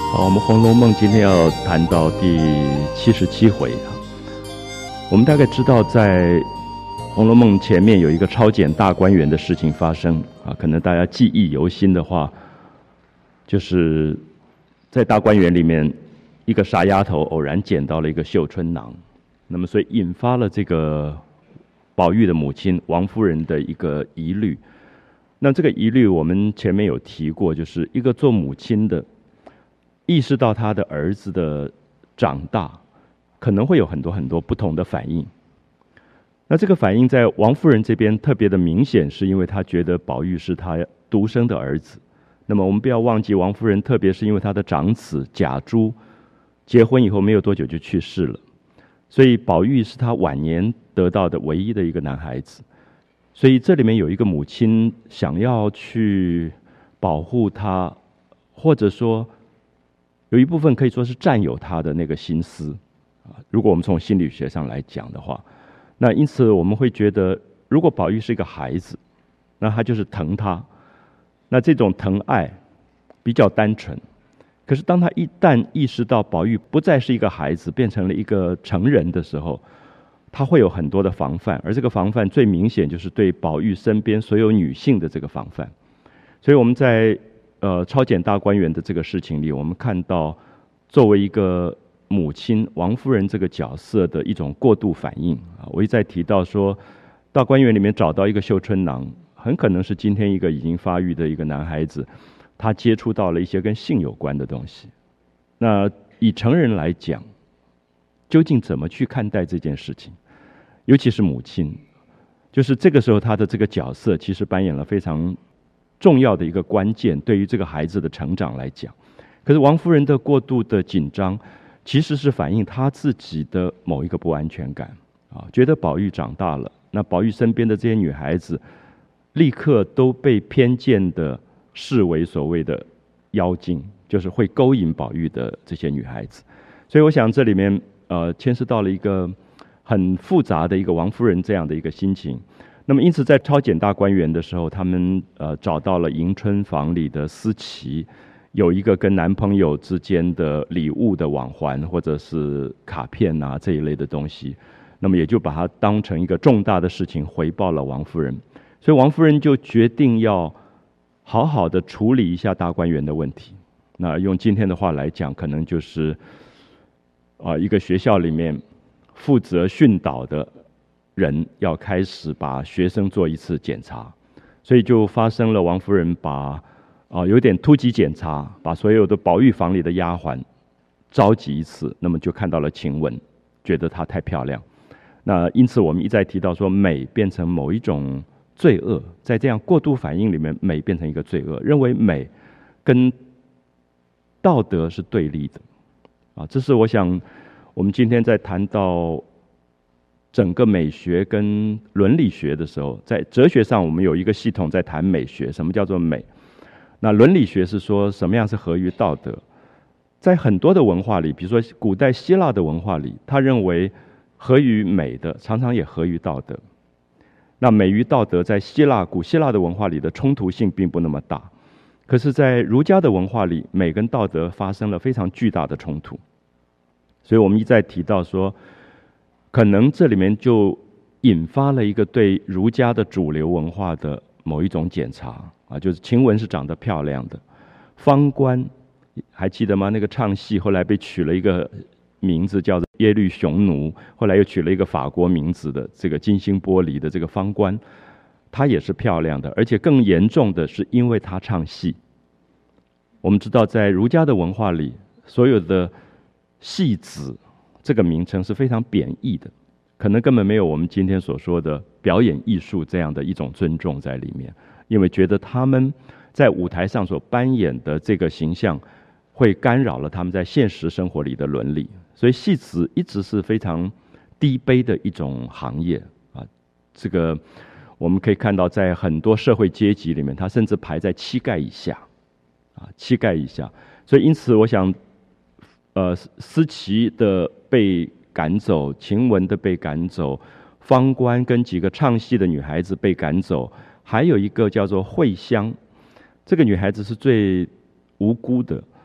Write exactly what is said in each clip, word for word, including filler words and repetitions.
好，我们《红楼梦》今天要谈到第七十七回啊。我们大概知道，在《红楼梦》前面有一个抄检大观园的事情发生啊，可能大家记忆犹新的话，就是在大观园里面，一个傻丫头偶然捡到了一个绣春囊，那么所以引发了这个宝玉的母亲王夫人的一个疑虑。那这个疑虑我们前面有提过，就是一个做母亲的意识到他的儿子的长大，可能会有很多很多不同的反应。那这个反应在王夫人这边特别的明显，是因为她觉得宝玉是她独生的儿子。那么我们不要忘记，王夫人特别是因为她的长子贾珠结婚以后没有多久就去世了，所以宝玉是她晚年得到的唯一的一个男孩子。所以这里面有一个母亲想要去保护他，或者说有一部分可以说是占有他的那个心思啊。如果我们从心理学上来讲的话，那因此我们会觉得，如果宝玉是一个孩子，那他就是疼他，那这种疼爱比较单纯。可是当他一旦意识到宝玉不再是一个孩子，变成了一个成人的时候，他会有很多的防范，而这个防范最明显就是对宝玉身边所有女性的这个防范。所以我们在呃抄检大观园的这个事情里，我们看到作为一个母亲王夫人这个角色的一种过度反应啊。我一再提到说，大观园里面找到一个绣春囊，很可能是今天一个已经发育的一个男孩子，他接触到了一些跟性有关的东西。那以成人来讲，究竟怎么去看待这件事情？尤其是母亲，就是这个时候她的这个角色其实扮演了非常重要的一个关键，对于这个孩子的成长来讲。可是王夫人的过度的紧张，其实是反映她自己的某一个不安全感啊，觉得宝玉长大了，那宝玉身边的这些女孩子，立刻都被偏见的视为所谓的妖精，就是会勾引宝玉的这些女孩子。所以我想这里面呃牵涉到了一个很复杂的一个王夫人这样的一个心情。那么因此在抄检大观园的时候，他们呃找到了迎春房里的思琪，有一个跟男朋友之间的礼物的往还或者是卡片啊这一类的东西，那么也就把它当成一个重大的事情回报了王夫人。所以王夫人就决定要好好的处理一下大观园的问题。那用今天的话来讲，可能就是啊、呃、一个学校里面负责训导的人要开始把学生做一次检查，所以就发生了王夫人把啊、呃、有点突击检查，把所有的宝玉房里的丫鬟召集一次，那么就看到了晴雯，觉得她太漂亮。那因此我们一再提到说，美变成某一种罪恶，在这样过度反应里面，美变成一个罪恶，认为美跟道德是对立的啊。这是我想我们今天在谈到整个美学跟伦理学的时候，在哲学上我们有一个系统在谈美学，什么叫做美？那伦理学是说什么样是合于道德。在很多的文化里，比如说古代希腊的文化里，他认为合于美的常常也合于道德。那美与道德在希腊古希腊的文化里的冲突性并不那么大，可是在儒家的文化里，美跟道德发生了非常巨大的冲突。所以我们一再提到说，可能这里面就引发了一个对儒家的主流文化的某一种检查啊，就是晴雯是长得漂亮的，方官还记得吗？那个唱戏后来被取了一个名字叫做耶律雄奴，后来又取了一个法国名字的这个金星玻璃的这个方官，她也是漂亮的，而且更严重的是因为她唱戏。我们知道在儒家的文化里，所有的戏子这个名称是非常贬义的，可能根本没有我们今天所说的表演艺术这样的一种尊重在里面，因为觉得他们在舞台上所扮演的这个形象会干扰了他们在现实生活里的伦理，所以戏子一直是非常低卑的一种行业啊。这个我们可以看到，在很多社会阶级里面，它甚至排在膝盖以下啊，膝盖以下。所以因此，我想。呃，思琪的被赶走，晴雯的被赶走，方官跟几个唱戏的女孩子被赶走，还有一个叫做慧香，这个女孩子是最无辜的。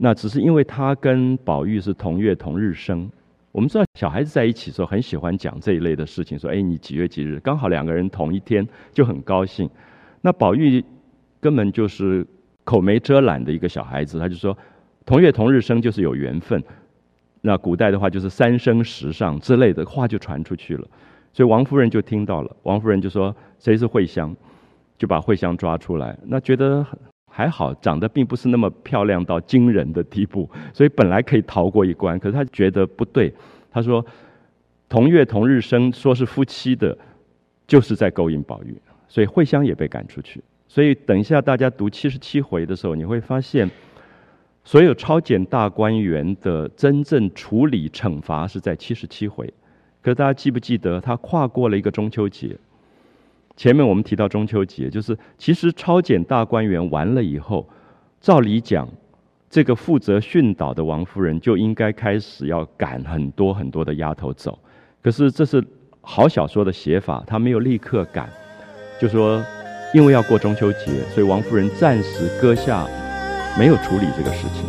那只是因为他跟宝玉是同月同日生。我们知道小孩子在一起的时候很喜欢讲这一类的事情，说哎你几月几日，刚好两个人同一天就很高兴。那宝玉根本就是口没遮拦的一个小孩子，他就说同月同日生就是有缘分。那古代的话就是三生石上之类的话就传出去了，所以王夫人就听到了，王夫人就说谁是惠香，就把惠香抓出来。那觉得还好，长得并不是那么漂亮到惊人的地步，所以本来可以逃过一关。可是他觉得不对，他说同月同日生，说是夫妻的，就是在勾引宝玉，所以惠香也被赶出去。所以等一下大家读七十七回的时候，你会发现所有超检大观园的真正处理惩罚是在七十七回。可是大家记不记得他跨过了一个中秋节？前面我们提到中秋节，就是其实超检大观园完了以后，照理讲这个负责训导的王夫人就应该开始要赶很多很多的丫头走。可是这是好小说的写法，他没有立刻赶，就说因为要过中秋节，所以王夫人暂时搁下没有处理这个事情。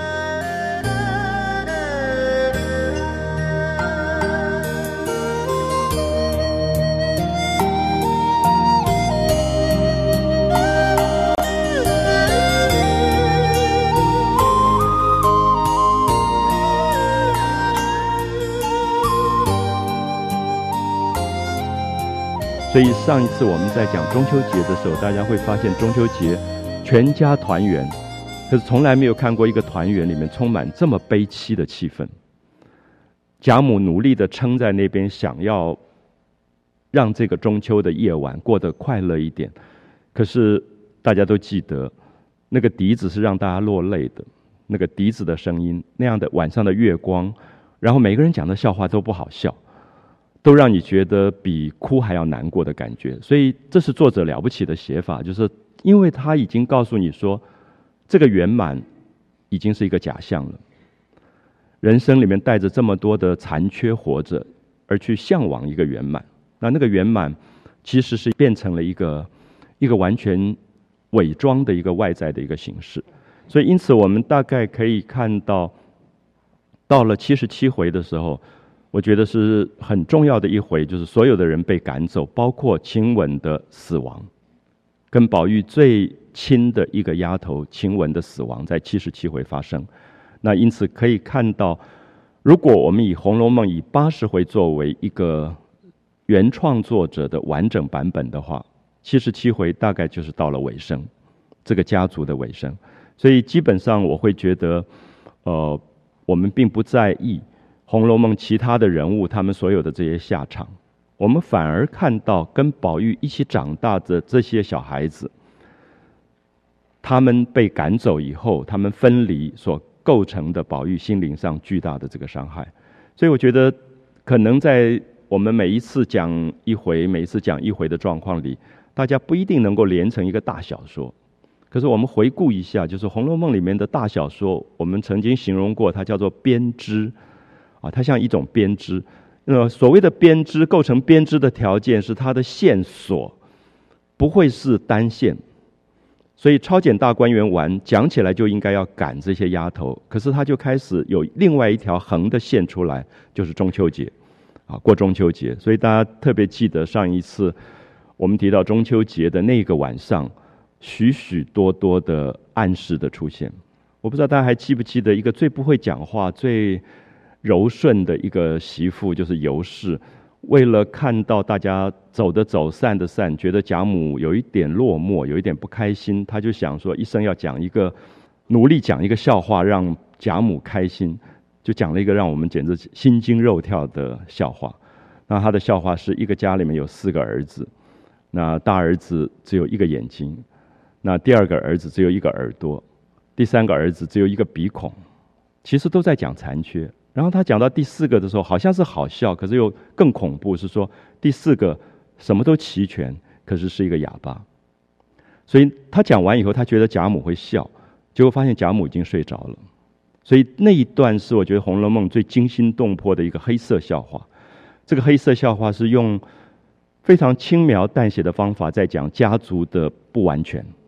所以上一次我们在讲中秋节的时候，大家会发现中秋节全家团圆，可是从来没有看过一个团圆里面充满这么悲凄的气氛。贾母努力地撑在那边，想要让这个中秋的夜晚过得快乐一点，可是大家都记得那个笛子是让大家落泪的，那个笛子的声音，那样的晚上的月光，然后每个人讲的笑话都不好笑，都让你觉得比哭还要难过的感觉。所以这是作者了不起的写法，就是因为他已经告诉你说这个圆满已经是一个假象了，人生里面带着这么多的残缺活着，而去向往一个圆满，那那个圆满其实是变成了一个一个完全伪装的一个外在的一个形式。所以因此我们大概可以看到，到了七十七回的时候，我觉得是很重要的一回，就是所有的人被赶走，包括晴雯的死亡，跟宝玉最亲的一个丫头晴雯的死亡在七十七回发生。那因此可以看到，如果我们以《红楼梦》以八十回作为一个原创作者的完整版本的话，七十七回大概就是到了尾声，这个家族的尾声。所以基本上我会觉得，呃，我们并不在意《红楼梦》其他的人物他们所有的这些下场，我们反而看到跟宝玉一起长大的这些小孩子，他们被赶走以后，他们分离所构成的宝玉心灵上巨大的这个伤害。所以我觉得可能在我们每一次讲一回每一次讲一回的状况里，大家不一定能够连成一个大小说。可是我们回顾一下，就是《红楼梦》里面的大小说，我们曾经形容过它叫做编织啊，它像一种编织。那所谓的编织，构成编织的条件是它的线索不会是单线。所以超检大观园完讲起来就应该要赶这些丫头，可是它就开始有另外一条横的线出来，就是中秋节啊，过中秋节。所以大家特别记得上一次我们提到中秋节的那个晚上，许许多多的暗示的出现。我不知道大家还记不记得一个最不会讲话最柔顺的一个媳妇，就是尤氏，为了看到大家走的走散的散，觉得贾母有一点落寞，有一点不开心，她就想说一生要讲一个努力讲一个笑话让贾母开心，就讲了一个让我们简直心惊肉跳的笑话。那她的笑话是一个家里面有四个儿子，那大儿子只有一个眼睛，那第二个儿子只有一个耳朵，第三个儿子只有一个鼻孔，其实都在讲残缺。然后他讲到第四个的时候，好像是好笑，可是又更恐怖，是说第四个什么都齐全，可是是一个哑巴。所以他讲完以后，他觉得贾母会笑，结果发现贾母已经睡着了。所以那一段是我觉得《红楼梦》最惊心动魄的一个黑色笑话。这个黑色笑话是用非常轻描淡写的方法在讲家族的不完全，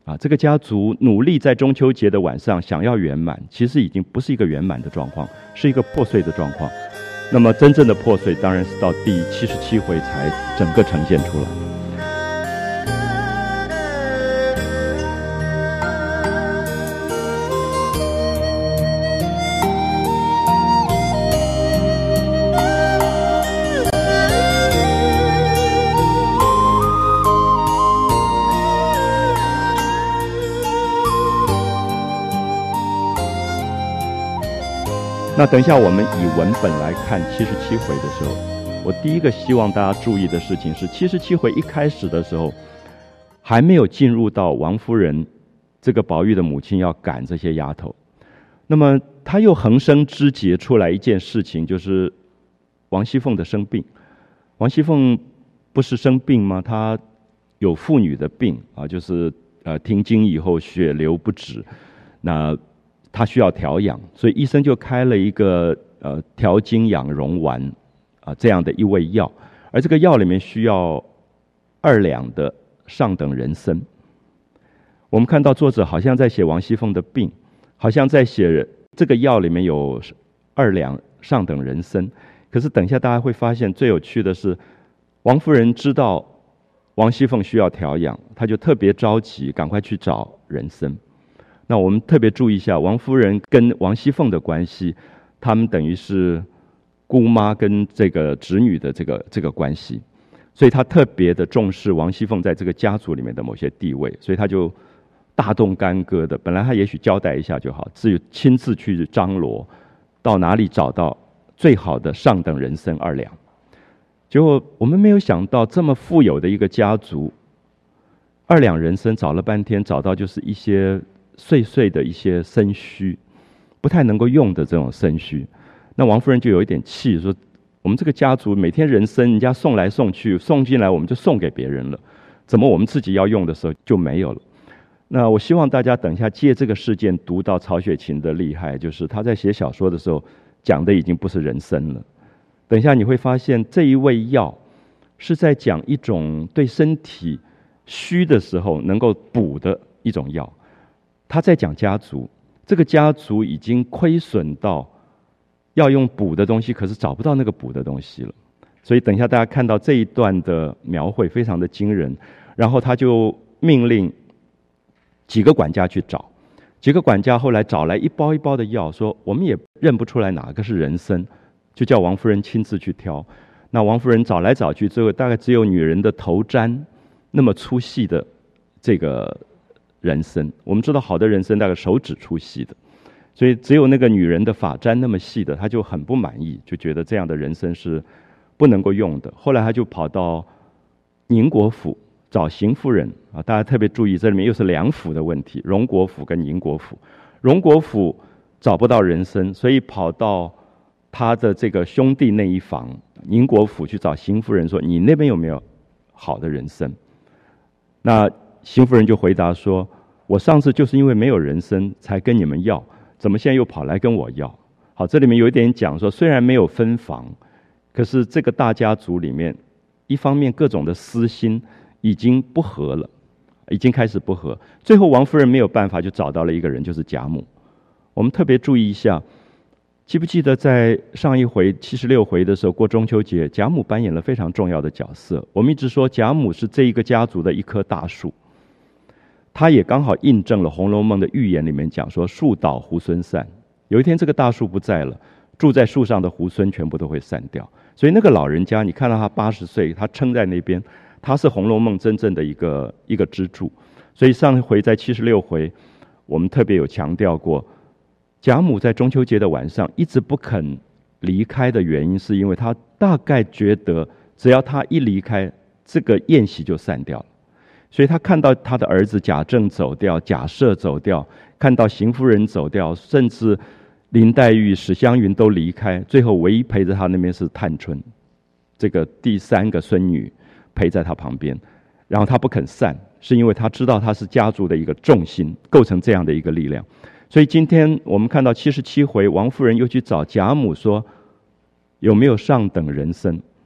啊，这个家族努力在中秋节的晚上想要圆满，其实已经不是一个圆满的状况，是一个破碎的状况。那么真正的破碎，当然是到第七十七回才整个呈现出来。那等一下，我们以文本来看七十七回的时候，我第一个希望大家注意的事情是，七十七回一开始的时候，还没有进入到王夫人这个宝玉的母亲要赶这些丫头，那么他又横生枝节出来一件事情，就是王熙凤的生病。王熙凤不是生病吗？她有妇女的病啊，就是呃停经以后血流不止，那他需要调养，所以医生就开了一个呃调经养荣丸啊这样的一味药，而这个药里面需要二两的上等人参。我们看到作者好像在写王熙凤的病，好像在写这个药里面有二两上等人参，可是等一下大家会发现最有趣的是，王夫人知道王熙凤需要调养，她就特别着急，赶快去找人参。那我们特别注意一下王夫人跟王熙凤的关系，他们等于是姑妈跟这个侄女的这个这个关系，所以她特别的重视王熙凤在这个家族里面的某些地位，所以她就大动干戈的，本来她也许交代一下就好，至于亲自去张罗到哪里找到最好的上等人参二两。结果我们没有想到这么富有的一个家族，二两人参找了半天，找到就是一些碎碎的一些参须，不太能够用的这种参须。那王夫人就有一点气，说我们这个家族每天人参人家送来送去，送进来我们就送给别人了，怎么我们自己要用的时候就没有了？那我希望大家等一下借这个事件读到曹雪芹的厉害，就是他在写小说的时候讲的已经不是人参了。等一下你会发现这一味药是在讲一种对身体虚的时候能够补的一种药。他在讲家族，这个家族已经亏损到要用补的东西，可是找不到那个补的东西了。所以等一下大家看到这一段的描绘非常的惊人，然后他就命令几个管家去找，几个管家后来找来一包一包的药，说我们也认不出来哪个是人参，就叫王夫人亲自去挑。那王夫人找来找去，最后大概只有女人的头簪那么粗细的这个人参，我们知道好的人参大概手指粗细的，所以只有那个女人的发簪那么细的，她就很不满意，就觉得这样的人参是不能够用的。后来她就跑到宁国府找邢夫人啊，大家特别注意，这里面又是两府的问题，荣国府跟宁国府。荣国府找不到人参，所以跑到他的这个兄弟那一房宁国府去找邢夫人，说你那边有没有好的人参？那邢夫人就回答说，我上次就是因为没有人参才跟你们要，怎么现在又跑来跟我要？好，这里面有一点讲说，虽然没有分房，可是这个大家族里面，一方面各种的私心已经不和了，已经开始不和。最后王夫人没有办法，就找到了一个人，就是贾母。我们特别注意一下，记不记得在上一回七十六回的时候，过中秋节，贾母扮演了非常重要的角色。我们一直说贾母是这一个家族的一棵大树，他也刚好印证了《红楼梦》的预言里面讲说，树倒猢狲散，有一天这个大树不在了，住在树上的猢狲全部都会散掉。所以那个老人家，你看到他八十岁，他撑在那边，他是《红楼梦》真正的一个一个支柱。所以上一回在七十六回，我们特别有强调过，贾母在中秋节的晚上一直不肯离开的原因，是因为他大概觉得，只要他一离开，这个宴席就散掉了。所以他看到他的儿子贾政走掉，贾赦走掉，看到邢夫人走掉，甚至林黛玉、史湘云都离开，最后唯一陪着他那边是探春，这个第三个孙女陪在他旁边，然后他不肯散，是因为他知道他是家族的一个重心，构成这样的一个力量。所以今天我们看到七十七回，王夫人又去找贾母说有没有上等人参。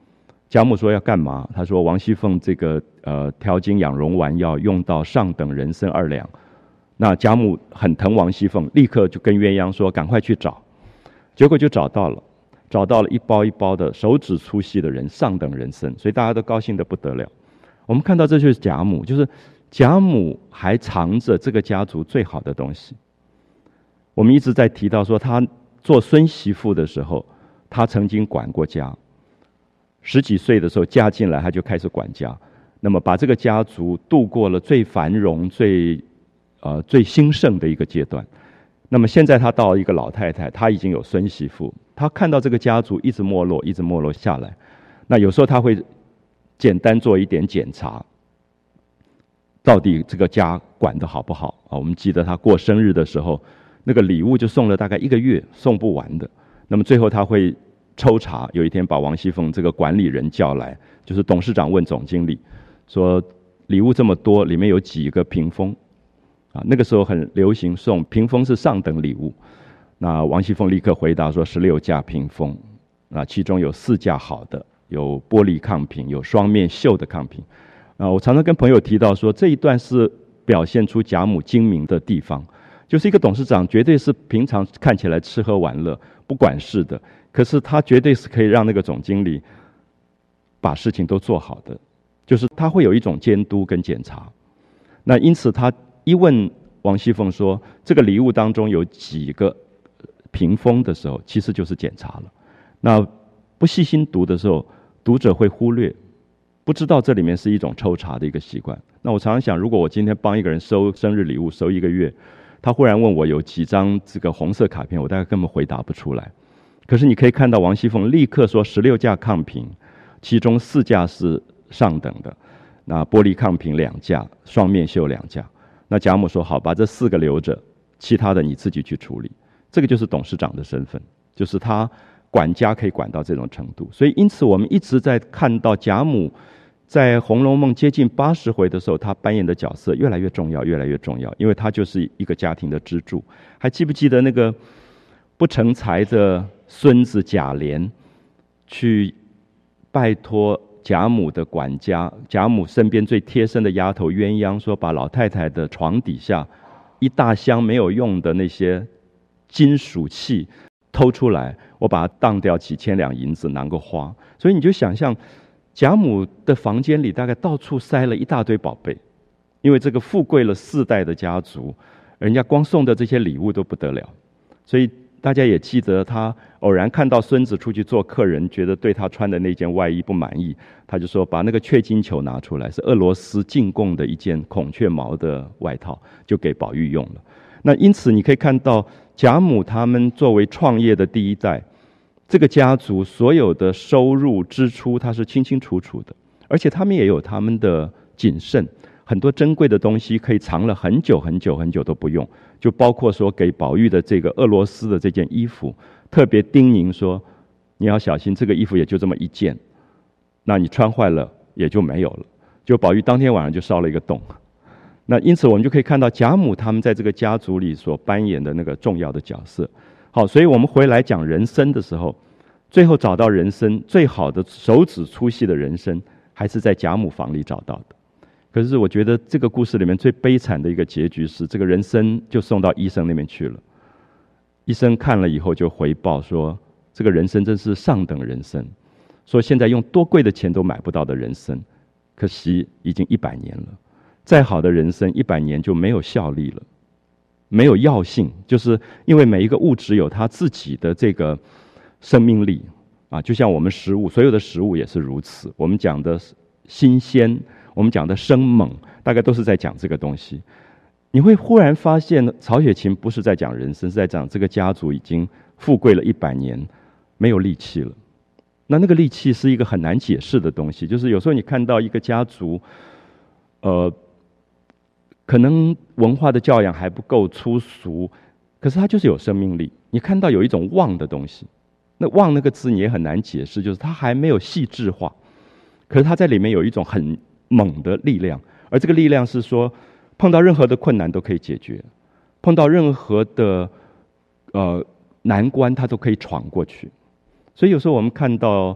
贾母说要干嘛？他说王熙凤这个呃调经养荣丸要用到上等人参二两。那贾母很疼王熙凤，立刻就跟鸳鸯说赶快去找。结果就找到了，找到了一包一包的手指粗细的人上等人参，所以大家都高兴得不得了。我们看到这就是贾母，就是贾母还藏着这个家族最好的东西。我们一直在提到说，她做孙媳妇的时候，她曾经管过家。十几岁的时候嫁进来，她就开始管家，那么把这个家族度过了最繁荣、最呃最兴盛的一个阶段。那么现在她到了一个老太太，她已经有孙媳妇，她看到这个家族一直没落，一直没落下来，那有时候她会简单做一点检查，到底这个家管得好不好啊？我们记得她过生日的时候，那个礼物就送了大概一个月，送不完的。那么最后她会抽查，有一天把王熙凤这个管理人叫来，就是董事长问总经理说，礼物这么多，里面有几个屏风啊？那个时候很流行送屏风是上等礼物。那王熙凤立刻回答说十六架屏风，那其中有四架好的，有玻璃抗瓶，有双面绣的抗瓶。啊，我常常跟朋友提到说，这一段是表现出贾母精明的地方，就是一个董事长绝对是平常看起来吃喝玩乐不管事的，可是他绝对是可以让那个总经理把事情都做好的，就是他会有一种监督跟检查。那因此他一问王熙凤说这个礼物当中有几个屏风的时候，其实就是检查了。那不细心读的时候，读者会忽略，不知道这里面是一种抽查的一个习惯。那我常常想，如果我今天帮一个人收生日礼物收一个月，他忽然问我有几张这个红色卡片，我大概根本回答不出来。可是你可以看到王熙凤立刻说十六架抗瓶，其中四架是上等的，那玻璃抗瓶两架，双面绣两架。那贾母说好，把这四个留着，其他的你自己去处理。这个就是董事长的身份，就是他管家可以管到这种程度。所以因此我们一直在看到贾母在《红楼梦》接近八十回的时候，她扮演的角色越来越重要，越来越重要，因为她就是一个家庭的支柱。还记不记得那个不成才的孙子贾琏去拜托贾母的管家，贾母身边最贴身的丫头鸳鸯说，把老太太的床底下一大箱没有用的那些金属器偷出来，我把它当掉几千两银子，拿个花。所以你就想象贾母的房间里大概到处塞了一大堆宝贝，因为这个富贵了四代的家族，人家光送的这些礼物都不得了。所以大家也记得，他偶然看到孙子出去做客人，觉得对他穿的那件外衣不满意，他就说把那个雀金球拿出来，是俄罗斯进贡的一件孔雀毛的外套，就给宝玉用了。那因此你可以看到贾母他们作为创业的第一代，这个家族所有的收入支出他是清清楚楚的，而且他们也有他们的谨慎，很多珍贵的东西可以藏了很久很久很久都不用，就包括说给宝玉的这个俄罗斯的这件衣服，特别叮咛说你要小心，这个衣服也就这么一件，那你穿坏了也就没有了。就宝玉当天晚上就烧了一个洞。那因此我们就可以看到贾母他们在这个家族里所扮演的那个重要的角色。好，所以我们回来讲人参的时候，最后找到人参最好的手指粗细的人参还是在贾母房里找到的。可是我觉得这个故事里面最悲惨的一个结局是，这个人参就送到医生那边去了，医生看了以后就回报说这个人参真是上等人参，说现在用多贵的钱都买不到的人参，可惜已经一百年了，再好的人参一百年就没有效力了，没有药性，就是因为每一个物质有它自己的这个生命力啊，就像我们食物，所有的食物也是如此。我们讲的新鲜，我们讲的生猛，大概都是在讲这个东西。你会忽然发现，曹雪芹不是在讲人生，是在讲这个家族已经富贵了一百年，没有力气了。那那个力气是一个很难解释的东西，就是有时候你看到一个家族，呃。可能文化的教养还不够粗俗，可是它就是有生命力。你看到有一种旺的东西，那旺那个字你也很难解释，就是它还没有细致化，可是它在里面有一种很猛的力量，而这个力量是说碰到任何的困难都可以解决，碰到任何的呃难关它都可以闯过去。所以有时候我们看到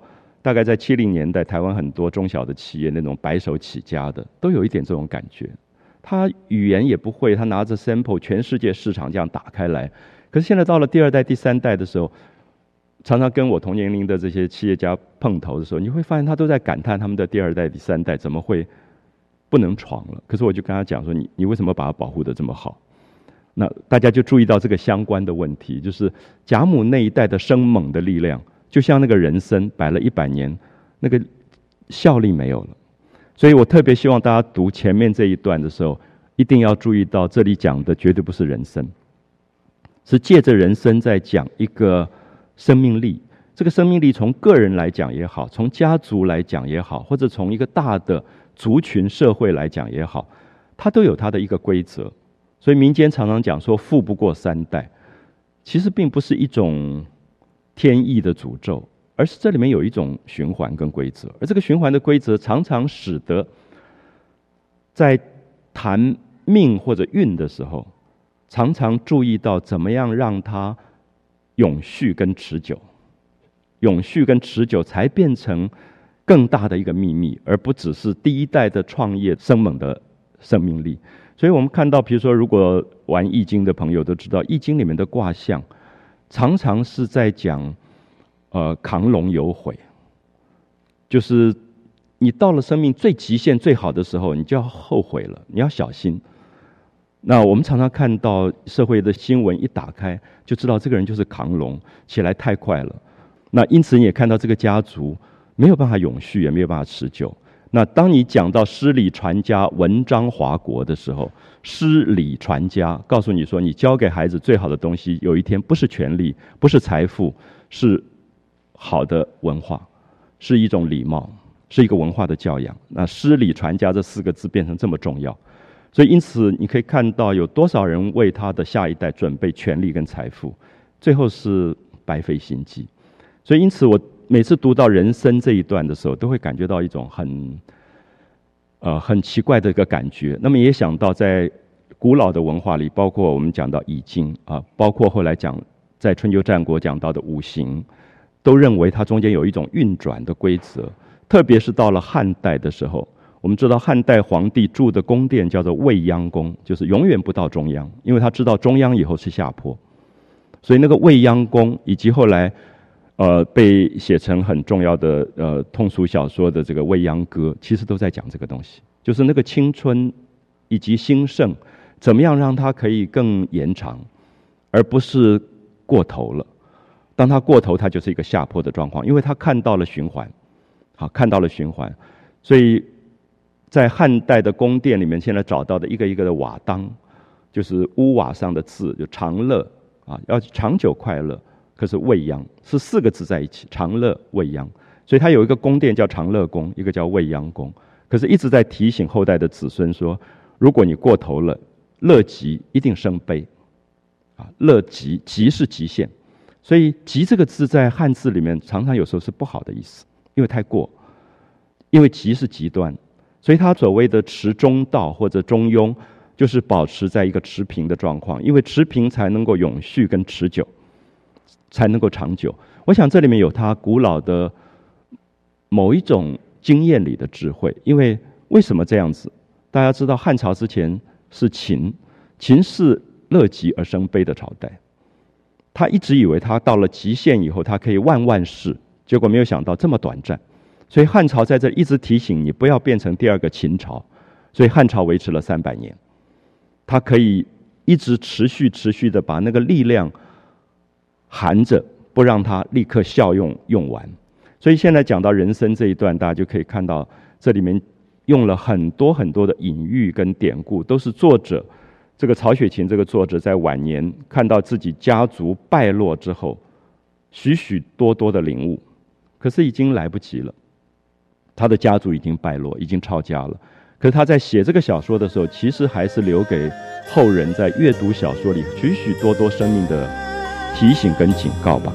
大概在七零年代，台湾很多中小的企业那种白手起家的，都有一点这种感觉。他语言也不会，他拿着 sample 全世界市场这样打开来。可是现在到了第二代、第三代的时候，常常跟我同年龄的这些企业家碰头的时候，你会发现他都在感叹他们的第二代、第三代怎么会不能闯了。可是我就跟他讲说，你你为什么把它保护得这么好？那大家就注意到这个相关的问题，就是甲母那一代的生猛的力量，就像那个人参摆了一百年，那个效力没有了。所以我特别希望大家读前面这一段的时候，一定要注意到这里讲的绝对不是人参，是借着人参在讲一个生命力。这个生命力从个人来讲也好，从家族来讲也好，或者从一个大的族群社会来讲也好，它都有它的一个规则。所以民间常常讲说富不过三代，其实并不是一种天意的诅咒，而是这里面有一种循环跟规则。而这个循环的规则常常使得在谈命或者运的时候，常常注意到怎么样让它永续跟持久，永续跟持久才变成更大的一个秘密，而不只是第一代的创业生猛的生命力。所以我们看到，比如说如果玩易经的朋友都知道，易经里面的卦象常常是在讲呃亢龙有悔，就是你到了生命最极限最好的时候，你就要后悔了，你要小心。那我们常常看到社会的新闻一打开，就知道这个人就是亢龙，起来太快了。那因此你也看到这个家族没有办法永续，也没有办法持久。那当你讲到诗礼传家、文章华国的时候，诗礼传家告诉你说，你教给孩子最好的东西，有一天不是权力，不是财富，是好的文化，是一种礼貌，是一个文化的教养。那诗礼传家这四个字变成这么重要，所以因此你可以看到有多少人为他的下一代准备权力跟财富，最后是白费心机。所以因此我每次读到人参这一段的时候，都会感觉到一种很呃很奇怪的一个感觉。那么也想到在古老的文化里，包括我们讲到易经啊，包括后来讲在春秋战国讲到的五行，都认为它中间有一种运转的规则。特别是到了汉代的时候，我们知道汉代皇帝住的宫殿叫做未央宫，就是永远不到中央，因为他知道中央以后是下坡。所以那个未央宫以及后来呃，被写成很重要的呃通俗小说的这个《未央歌》，其实都在讲这个东西，就是那个青春以及兴盛，怎么样让它可以更延长，而不是过头了。当它过头，它就是一个下坡的状况，因为它看到了循环，好，看到了循环，所以在汉代的宫殿里面，现在找到的一个一个的瓦当，就是屋瓦上的字，就长乐啊，要长久快乐。可是未央是四个字在一起，长乐未央，所以它有一个宫殿叫长乐宫，一个叫未央宫。可是一直在提醒后代的子孙说，如果你过头了，乐极一定生悲啊，乐极，极是极限。所以极这个字在汉字里面常常有时候是不好的意思，因为太过，因为极是极端，所以它所谓的持中道或者中庸，就是保持在一个持平的状况，因为持平才能够永续跟持久，才能够长久。我想这里面有它古老的某一种经验里的智慧。因为为什么这样子？大家知道汉朝之前是秦，秦是乐极而生悲的朝代，他一直以为他到了极限以后他可以万万世，结果没有想到这么短暂。所以汉朝在这一直提醒你不要变成第二个秦朝，所以汉朝维持了三百年，它可以一直持续持续的把那个力量含着，不让它立刻效用用完。所以现在讲到人参这一段，大家就可以看到这里面用了很多很多的隐喻跟典故，都是作者这个曹雪芹这个作者在晚年看到自己家族败落之后许许多多的领悟，可是已经来不及了，他的家族已经败落，已经抄家了。可是他在写这个小说的时候，其实还是留给后人在阅读小说里许许多多生命的提醒跟警告吧。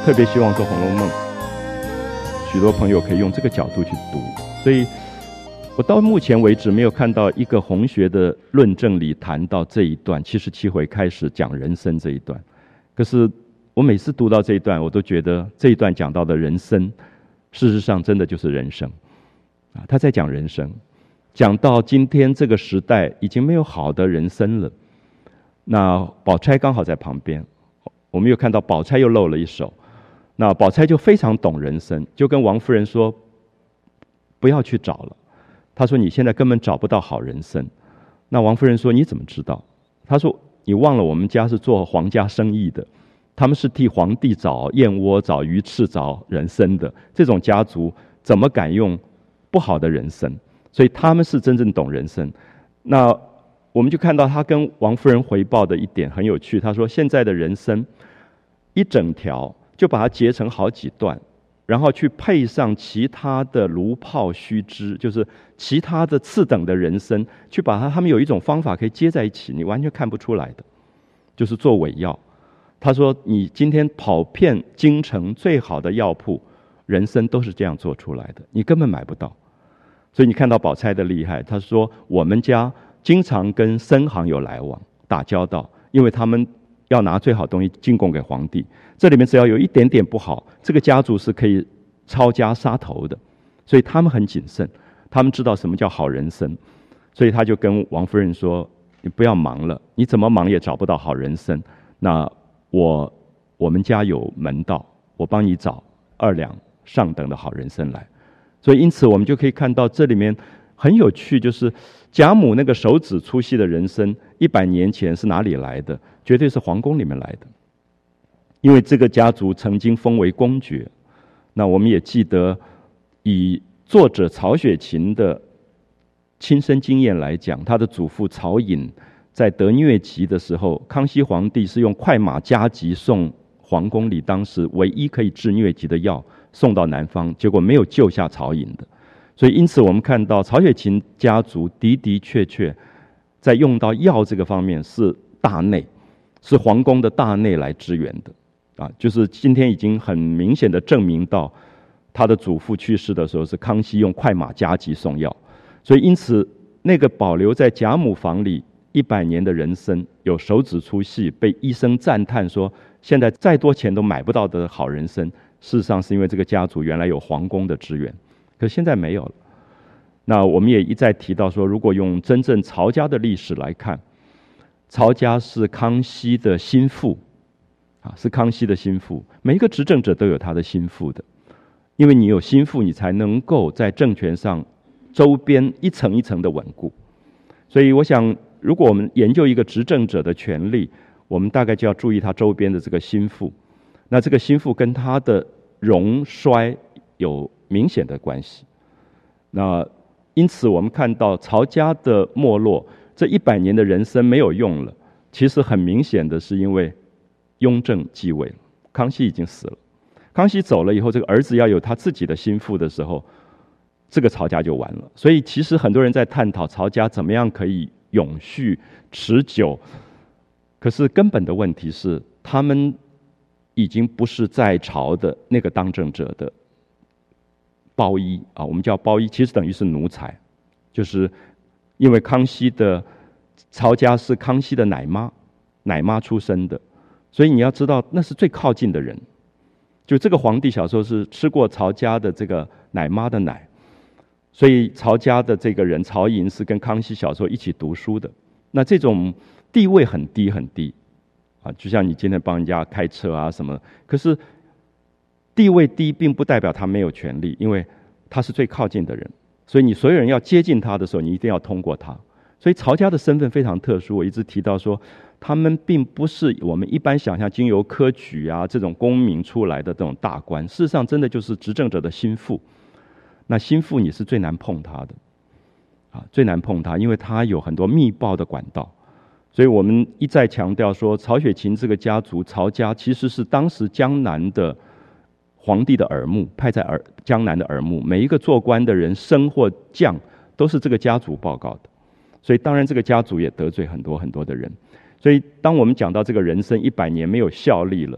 特别希望说《红楼梦》，许多朋友可以用这个角度去读。所以我到目前为止没有看到一个红学的论证里谈到这一段七十七回开始讲人生这一段。可是我每次读到这一段，我都觉得这一段讲到的人生，事实上真的就是人生啊！他在讲人生，讲到今天这个时代已经没有好的人生了。那宝钗刚好在旁边，我们又看到宝钗又露了一手。那宝钗就非常懂人生，就跟王夫人说：“不要去找了。”他说：“你现在根本找不到好人生。”那王夫人说：“你怎么知道？”他说：“你忘了我们家是做皇家生意的，他们是替皇帝找燕窝、找鱼翅、找人参的，这种家族怎么敢用不好的人参？所以他们是真正懂人生。”那我们就看到他跟王夫人回报的一点很有趣，他说：“现在的人参一整条就把它截成好几段。”然后去配上其他的芦泡须知，就是其他的次等的人参，去把它，他们有一种方法可以接在一起，你完全看不出来的，就是做伪药。他说，你今天跑遍京城最好的药铺，人参都是这样做出来的，你根本买不到。所以你看到宝钗的厉害，他说我们家经常跟参行有来往，打交道，因为他们要拿最好东西进贡给皇帝，这里面只要有一点点不好，这个家族是可以抄家杀头的，所以他们很谨慎，他们知道什么叫好人参，所以他就跟王夫人说：“你不要忙了，你怎么忙也找不到好人参，那我我们家有门道，我帮你找二两上等的好人参来。”所以因此我们就可以看到这里面很有趣，就是贾母那个手指粗细的人参，一百年前是哪里来的？绝对是皇宫里面来的，因为这个家族曾经封为公爵。那我们也记得，以作者曹雪芹的亲身经验来讲，他的祖父曹寅在得疟疾的时候，康熙皇帝是用快马加急送皇宫里当时唯一可以治疟疾的药送到南方，结果没有救下曹寅的。所以因此我们看到曹雪芹家族的的确确在用到药这个方面是大内，是皇宫的大内来支援的啊，就是今天已经很明显的证明到他的祖父去世的时候是康熙用快马加急送药。所以因此那个保留在贾母房里一百年的人参，有手指粗细，被医生赞叹说现在再多钱都买不到的好人参，事实上是因为这个家族原来有皇宫的支援，可现在没有了。那我们也一再提到说，如果用真正曹家的历史来看，曹家是康熙的心腹啊，是康熙的心腹。每一个执政者都有他的心腹的，因为你有心腹，你才能够在政权上周边一层一层的稳固。所以我想，如果我们研究一个执政者的权力，我们大概就要注意他周边的这个心腹。那这个心腹跟他的荣衰有明显的关系。那因此我们看到曹家的没落，这一百年的人参没有用了，其实很明显的是因为雍正继位了，康熙已经死了。康熙走了以后，这个儿子要有他自己的心腹的时候，这个曹家就完了。所以其实很多人在探讨曹家怎么样可以永续持久，可是根本的问题是他们已经不是在朝的那个当政者的包衣啊，我们叫包衣，其实等于是奴才，就是因为康熙的曹家是康熙的奶妈，奶妈出身的，所以你要知道那是最靠近的人。就这个皇帝小时候是吃过曹家的这个奶妈的奶，所以曹家的这个人曹寅是跟康熙小时候一起读书的，那这种地位很低很低啊，就像你今天帮人家开车啊什么，可是地位低并不代表他没有权利，因为他是最靠近的人，所以你所有人要接近他的时候，你一定要通过他。所以曹家的身份非常特殊，我一直提到说，他们并不是我们一般想象经由科举啊这种功名出来的这种大官，事实上真的就是执政者的心腹。那心腹你是最难碰他的啊，最难碰他，因为他有很多密报的管道。所以我们一再强调说，曹雪芹这个家族曹家其实是当时江南的皇帝的耳目，派在耳江南的耳目，每一个做官的人升或降都是这个家族报告的，所以当然这个家族也得罪很多很多的人。所以当我们讲到这个人生一百年没有效力了，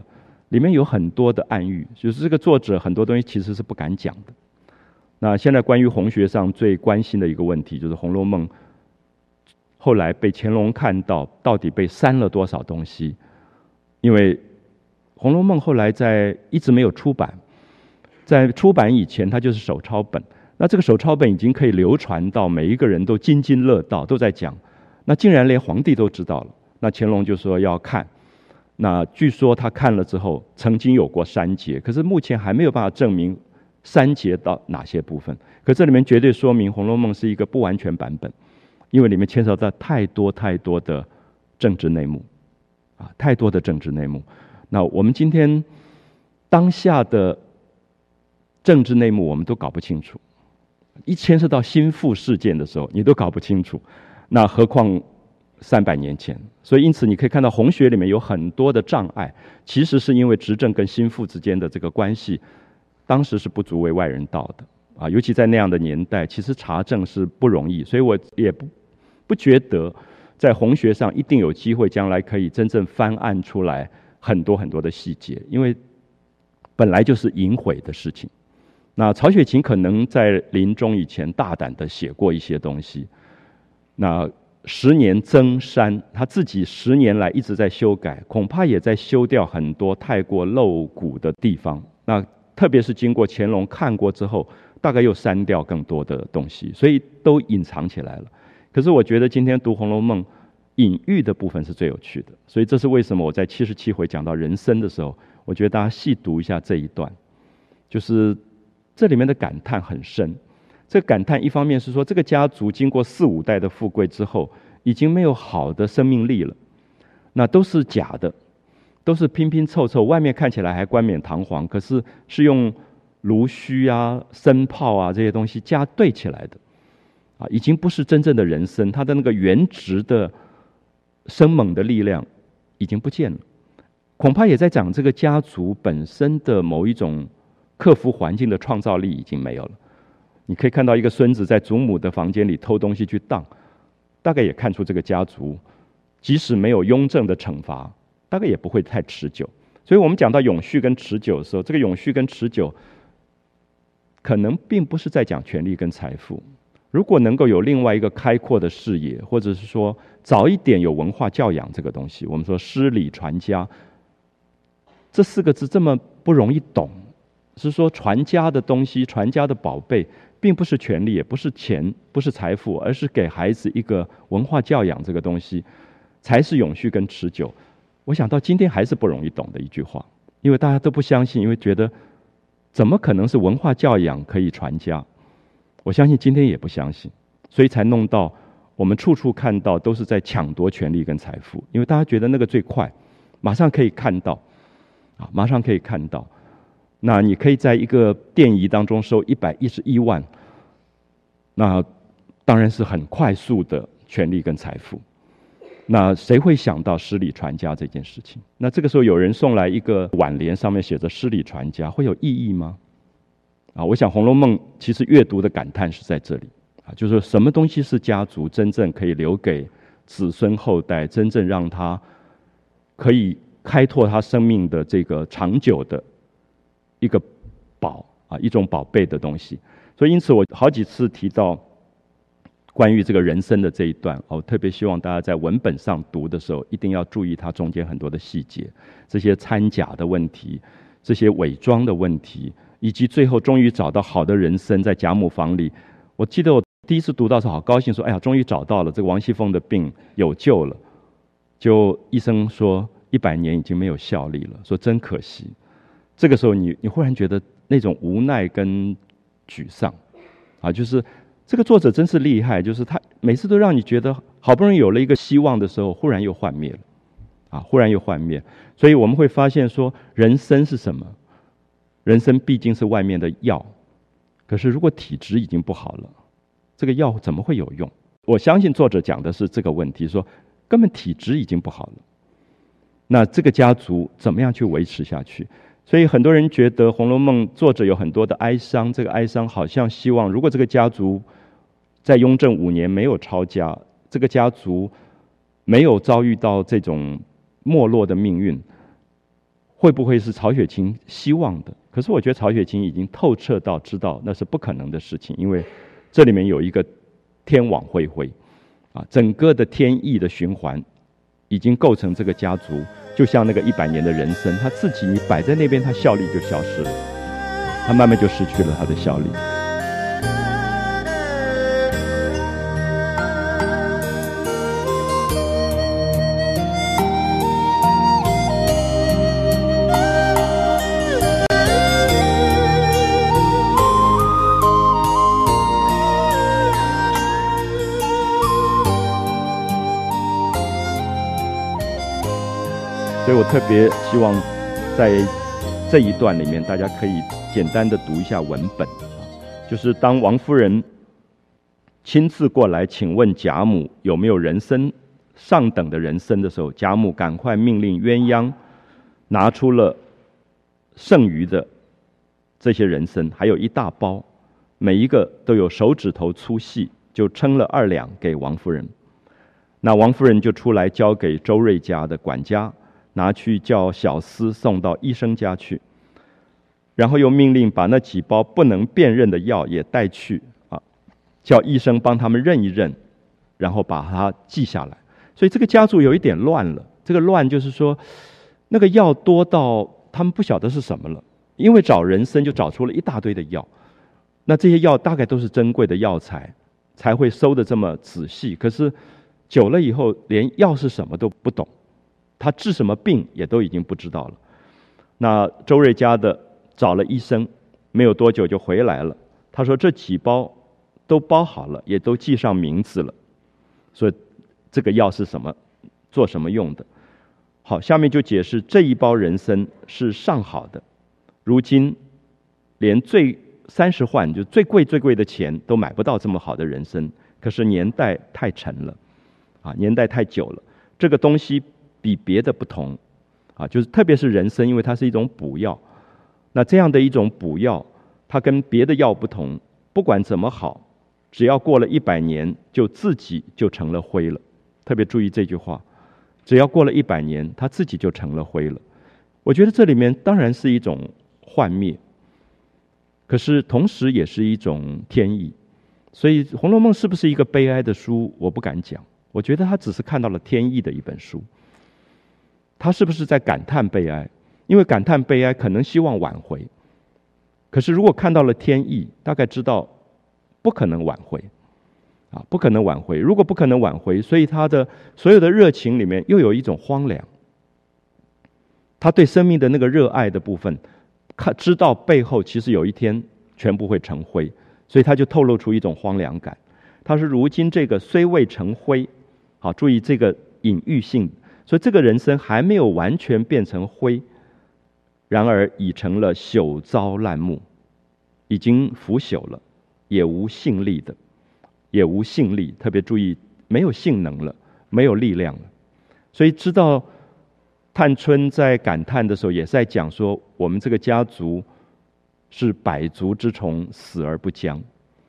里面有很多的暗喻，就是这个作者很多东西其实是不敢讲的。那现在关于红学上最关心的一个问题，就是《红楼梦》后来被乾隆看到，到底被删了多少东西？因为《红楼梦》后来在一直没有出版，在出版以前，它就是手抄本。那这个手抄本已经可以流传到每一个人都津津乐道，都在讲。那竟然连皇帝都知道了，那乾隆就说要看。那据说他看了之后，曾经有过删节，可是目前还没有办法证明删节到哪些部分。可这里面绝对说明《红楼梦》是一个不完全版本，因为里面牵涉到太多太多的政治内幕，啊，太多的政治内幕。那我们今天当下的政治内幕我们都搞不清楚，一牵涉到心腹事件的时候，你都搞不清楚，那何况三百年前？所以因此你可以看到红学里面有很多的障碍，其实是因为执政跟心腹之间的这个关系，当时是不足为外人道的啊，尤其在那样的年代，其实查证是不容易，所以我也不不觉得在红学上一定有机会将来可以真正翻案出来很多很多的细节，因为本来就是隐晦的事情。那曹雪芹可能在临终以前大胆地写过一些东西，那十年增删，他自己十年来一直在修改，恐怕也在修掉很多太过露骨的地方。那特别是经过乾隆看过之后，大概又删掉更多的东西，所以都隐藏起来了。可是我觉得今天读《红楼梦》，隐喻的部分是最有趣的，所以这是为什么我在七十七回讲到人生的时候，我觉得大家细读一下这一段，就是这里面的感叹很深。这个感叹一方面是说，这个家族经过四五代的富贵之后，已经没有好的生命力了，那都是假的，都是拼拼凑凑，外面看起来还冠冕堂皇，可是是用炉虚啊、生泡啊这些东西加对起来的，啊，已经不是真正的人生，它的那个原值的生猛的力量已经不见了。恐怕也在讲这个家族本身的某一种克服环境的创造力已经没有了。你可以看到一个孙子在祖母的房间里偷东西去当，大概也看出这个家族即使没有雍正的惩罚，大概也不会太持久。所以我们讲到永续跟持久的时候，这个永续跟持久可能并不是在讲权力跟财富。如果能够有另外一个开阔的视野，或者是说早一点有文化教养这个东西，我们说诗礼传家这四个字这么不容易懂，是说传家的东西，传家的宝贝并不是权力，也不是钱，不是财富，而是给孩子一个文化教养，这个东西才是永续跟持久。我想到今天还是不容易懂的一句话，因为大家都不相信，因为觉得怎么可能是文化教养可以传家？我相信今天也不相信，所以才弄到我们处处看到都是在抢夺权力跟财富，因为大家觉得那个最快，马上可以看到啊，马上可以看到。那你可以在一个电仪当中收一百一十一万，那当然是很快速的权力跟财富。那谁会想到诗礼传家这件事情？那这个时候有人送来一个挽联，上面写着诗礼传家，会有意义吗？啊，我想《红楼梦》其实阅读的感叹是在这里啊，就是什么东西是家族真正可以留给子孙后代，真正让他可以开拓他生命的这个长久的一个宝啊，一种宝贝的东西。所以因此我好几次提到关于这个人生的这一段，我特别希望大家在文本上读的时候一定要注意它中间很多的细节，这些掺假的问题，这些伪装的问题，以及最后终于找到好的人生在贾母房里。我记得我第一次读到时候好高兴，说哎呀终于找到了，这个王熙凤的病有救了。就医生说一百年已经没有效力了，说真可惜。这个时候你你忽然觉得那种无奈跟沮丧啊，就是这个作者真是厉害，就是他每次都让你觉得好不容易有了一个希望的时候，忽然又幻灭了啊，忽然又幻灭。所以我们会发现说，人生是什么？人生毕竟是外面的药，可是如果体质已经不好了，这个药怎么会有用？我相信作者讲的是这个问题，说根本体质已经不好了，那这个家族怎么样去维持下去？所以很多人觉得《红楼梦》作者有很多的哀伤，这个哀伤好像希望，如果这个家族在雍正五年没有抄家，这个家族没有遭遇到这种没落的命运， 会不会是曹雪芹希望的？可是我觉得曹雪芹已经透彻到知道那是不可能的事情，因为这里面有一个天网恢恢啊，整个的天意的循环已经构成这个家族，就像那个一百年的人参，他自己你摆在那边，它效力就消失了，他慢慢就失去了它的效力。所以我特别希望在这一段里面，大家可以简单的读一下文本，就是当王夫人亲自过来请问贾母有没有人参上等的人参的时候，贾母赶快命令鸳鸯拿出了剩余的这些人参，还有一大包，每一个都有手指头粗细，就称了二两给王夫人。那王夫人就出来交给周瑞家的管家，拿去叫小厮送到医生家去，然后又命令把那几包不能辨认的药也带去啊，叫医生帮他们认一认，然后把它记下来。所以这个家族有一点乱了，这个乱就是说，那个药多到他们不晓得是什么了，因为找人参就找出了一大堆的药，那这些药大概都是珍贵的药材，才会收得这么仔细。可是久了以后，连药是什么都不懂。他治什么病也都已经不知道了。那周瑞家的找了医生，没有多久就回来了。他说这几包都包好了，也都记上名字了，所以这个药是什么，做什么用的。好，下面就解释这一包人参是上好的，如今连最三十贯就最贵最贵的钱都买不到这么好的人参，可是年代太沉了啊，年代太久了，这个东西比别的不同啊，就是特别是人参，因为它是一种补药，那这样的一种补药，它跟别的药不同，不管怎么好，只要过了一百年，就自己就成了灰了。特别注意这句话，只要过了一百年，它自己就成了灰了。我觉得这里面当然是一种幻灭，可是同时也是一种天意。所以《红楼梦》是不是一个悲哀的书，我不敢讲。我觉得他只是看到了天意的一本书。他是不是在感叹悲哀？因为感叹悲哀可能希望挽回，可是如果看到了天意，大概知道不可能挽回啊，不可能挽回。如果不可能挽回，所以他的所有的热情里面又有一种荒凉。他对生命的那个热爱的部分，看知道背后其实有一天全部会成灰，所以他就透露出一种荒凉感。他说如今这个虽未成灰，好，注意这个隐喻性，所以这个人参还没有完全变成灰，然而已成了朽糟烂木，已经腐朽了，也无性力的，也无性力，特别注意没有性能了，没有力量了。所以知道探春在感叹的时候，也是在讲说，我们这个家族是百足之虫，死而不僵，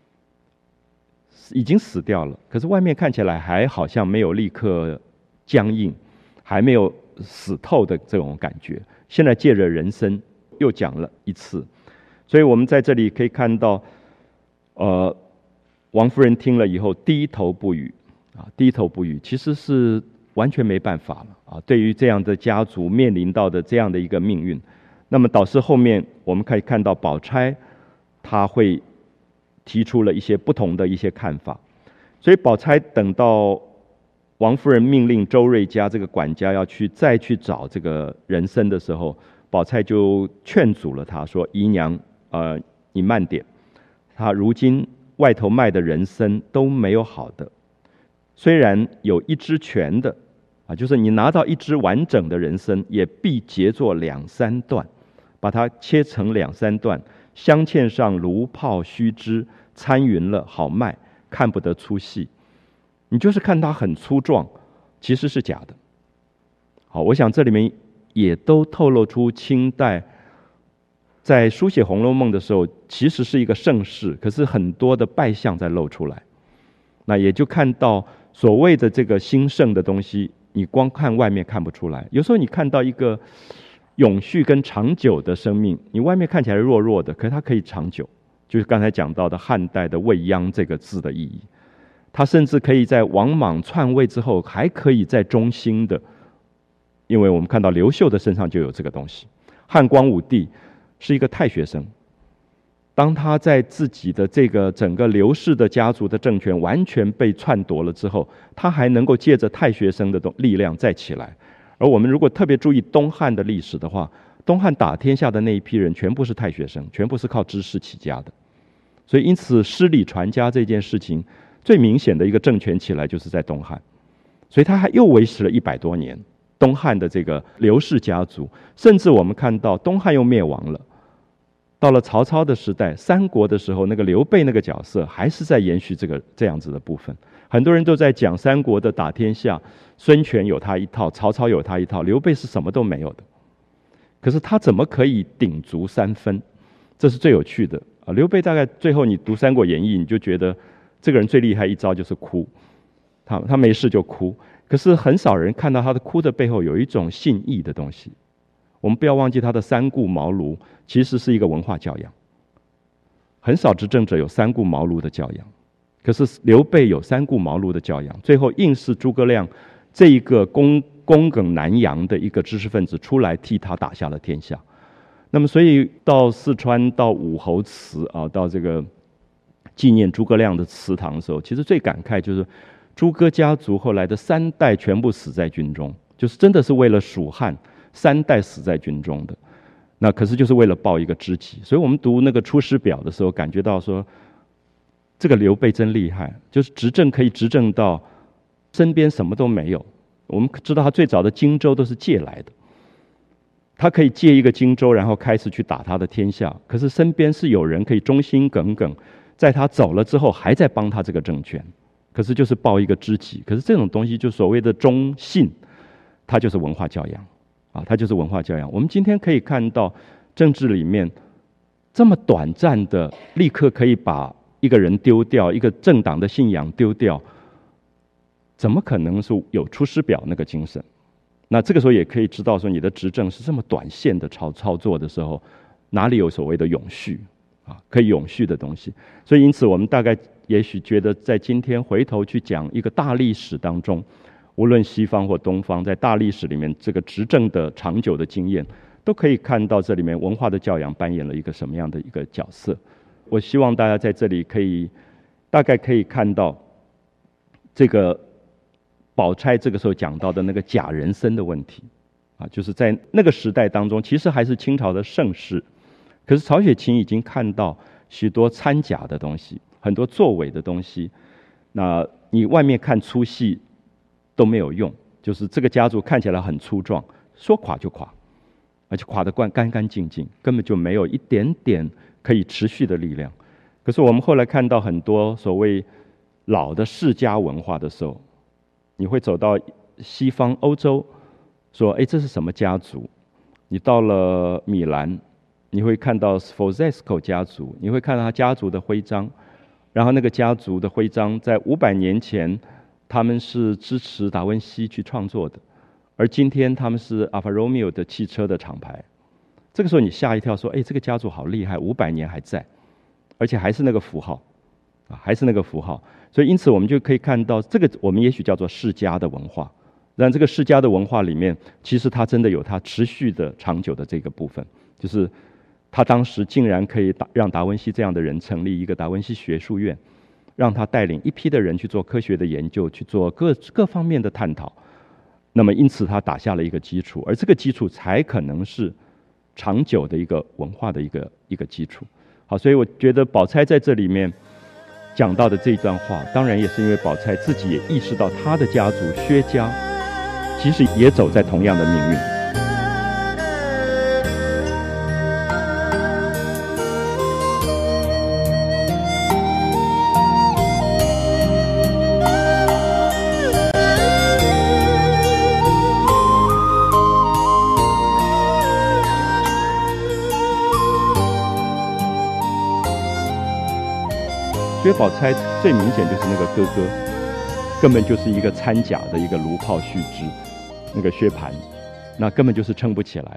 已经死掉了，可是外面看起来还好像没有立刻僵硬，还没有死透的这种感觉。现在借着人参又讲了一次，所以我们在这里可以看到，呃，王夫人听了以后低头不语啊，低头不语，其实是完全没办法了啊。对于这样的家族面临到的这样的一个命运，那么导致后面我们可以看到宝钗，她会提出了一些不同的一些看法，所以宝钗等到王夫人命令周瑞家这个管家要去再去找这个人参的时候，宝钗就劝阻了他，说：“姨娘，呃，你慢点。他如今外头卖的人参都没有好的，虽然有一支全的，啊，就是你拿到一支完整的人参，也必截作两三段，把它切成两三段，镶嵌上炉泡须枝，参匀了好卖，看不得粗细。你就是看它很粗壮，其实是假的。”好，我想这里面也都透露出清代在书写《红楼梦》的时候，其实是一个盛世，可是很多的败相在露出来。那也就看到所谓的这个兴盛的东西，你光看外面看不出来。有时候你看到一个永续跟长久的生命，你外面看起来弱弱的，可是它可以长久。就是刚才讲到的汉代的未央这个字的意义，它甚至可以在王莽篡位之后，还可以在中兴的，因为我们看到刘秀的身上就有这个东西。汉光武帝是一个太学生，当他在自己的这个整个刘氏的家族的政权完全被篡夺了之后，他还能够借着太学生的力量再起来。而我们如果特别注意东汉的历史的话，东汉打天下的那一批人全部是太学生，全部是靠知识起家的。所以因此诗礼传家这件事情最明显的一个政权起来就是在东汉，所以他还又维持了一百多年。东汉的这个刘氏家族，甚至我们看到东汉又灭亡了，到了曹操的时代，三国的时候，那个刘备那个角色还是在延续这个这样子的部分。很多人都在讲三国的打天下，孙权有他一套，曹操有他一套，刘备是什么都没有的。可是他怎么可以鼎足三分？这是最有趣的啊！刘备大概最后你读《三国演义》，你就觉得这个人最厉害一招就是哭，他他没事就哭。可是很少人看到他的哭的背后有一种信义的东西。我们不要忘记他的三顾茅庐其实是一个文化教养，很少执政者有三顾茅庐的教养，可是刘备有三顾茅庐的教养，最后硬是诸葛亮这一个躬躬耿南阳的一个知识分子出来替他打下了天下。那么所以到四川到武侯祠啊，到这个纪念诸葛亮的祠堂的时候，其实最感慨就是诸葛家族后来的三代全部死在军中，就是真的是为了蜀汉三代死在军中的。那可是就是为了报一个知己。所以我们读那个《出师表》的时候，感觉到说这个刘备真厉害，就是执政可以执政到身边什么都没有。我们知道他最早的荆州都是借来的，他可以借一个荆州，然后开始去打他的天下。可是身边是有人可以忠心耿耿，在他走了之后还在帮他这个政权。可是就是报一个知己。可是这种东西就所谓的忠信，它就是文化教养啊，它就是文化教养。我们今天可以看到政治里面这么短暂的，立刻可以把一个人丢掉，一个政党的信仰丢掉，怎么可能是有出师表那个精神？那这个时候也可以知道说，你的执政是这么短线的操操作的时候，哪里有所谓的永续啊？可以永续的东西。所以因此我们大概也许觉得，在今天回头去讲一个大历史当中，无论西方或东方，在大历史里面这个执政的长久的经验，都可以看到这里面文化的教养扮演了一个什么样的一个角色。我希望大家在这里可以大概可以看到这个宝钗这个时候讲到的那个假人参的问题啊，就是在那个时代当中，其实还是清朝的盛世，可是曹雪芹已经看到许多掺假的东西，很多作伪的东西。那你外面看粗细都没有用，就是这个家族看起来很粗壮，说垮就垮，而且垮得干干净净，根本就没有一点点可以持续的力量。可是我们后来看到很多所谓老的世家文化的时候，你会走到西方欧洲，说哎，这是什么家族？你到了米兰，你会看到 Sforzesco 家族，你会看到他家族的徽章，然后那个家族的徽章在五百年前他们是支持达文西去创作的，而今天他们是 Alfa Romeo 的汽车的厂牌。这个时候你吓一跳，说哎，这个家族好厉害，五百年还在，而且还是那个符号啊，还是那个符号。所以因此我们就可以看到，这个我们也许叫做世家的文化，但这个世家的文化里面，其实它真的有它持续的长久的这个部分，就是他当时竟然可以让达文西这样的人成立一个达文西学术院，让他带领一批的人去做科学的研究，去做各各方面的探讨。那么因此他打下了一个基础，而这个基础才可能是长久的一个文化的一个一个基础。好，所以我觉得宝钗在这里面讲到的这一段话，当然也是因为宝钗自己也意识到她的家族薛家其实也走在同样的命运。薛宝钗最明显就是那个哥哥，根本就是一个掺假的一个炉炮须知，那个薛蟠，那根本就是撑不起来的。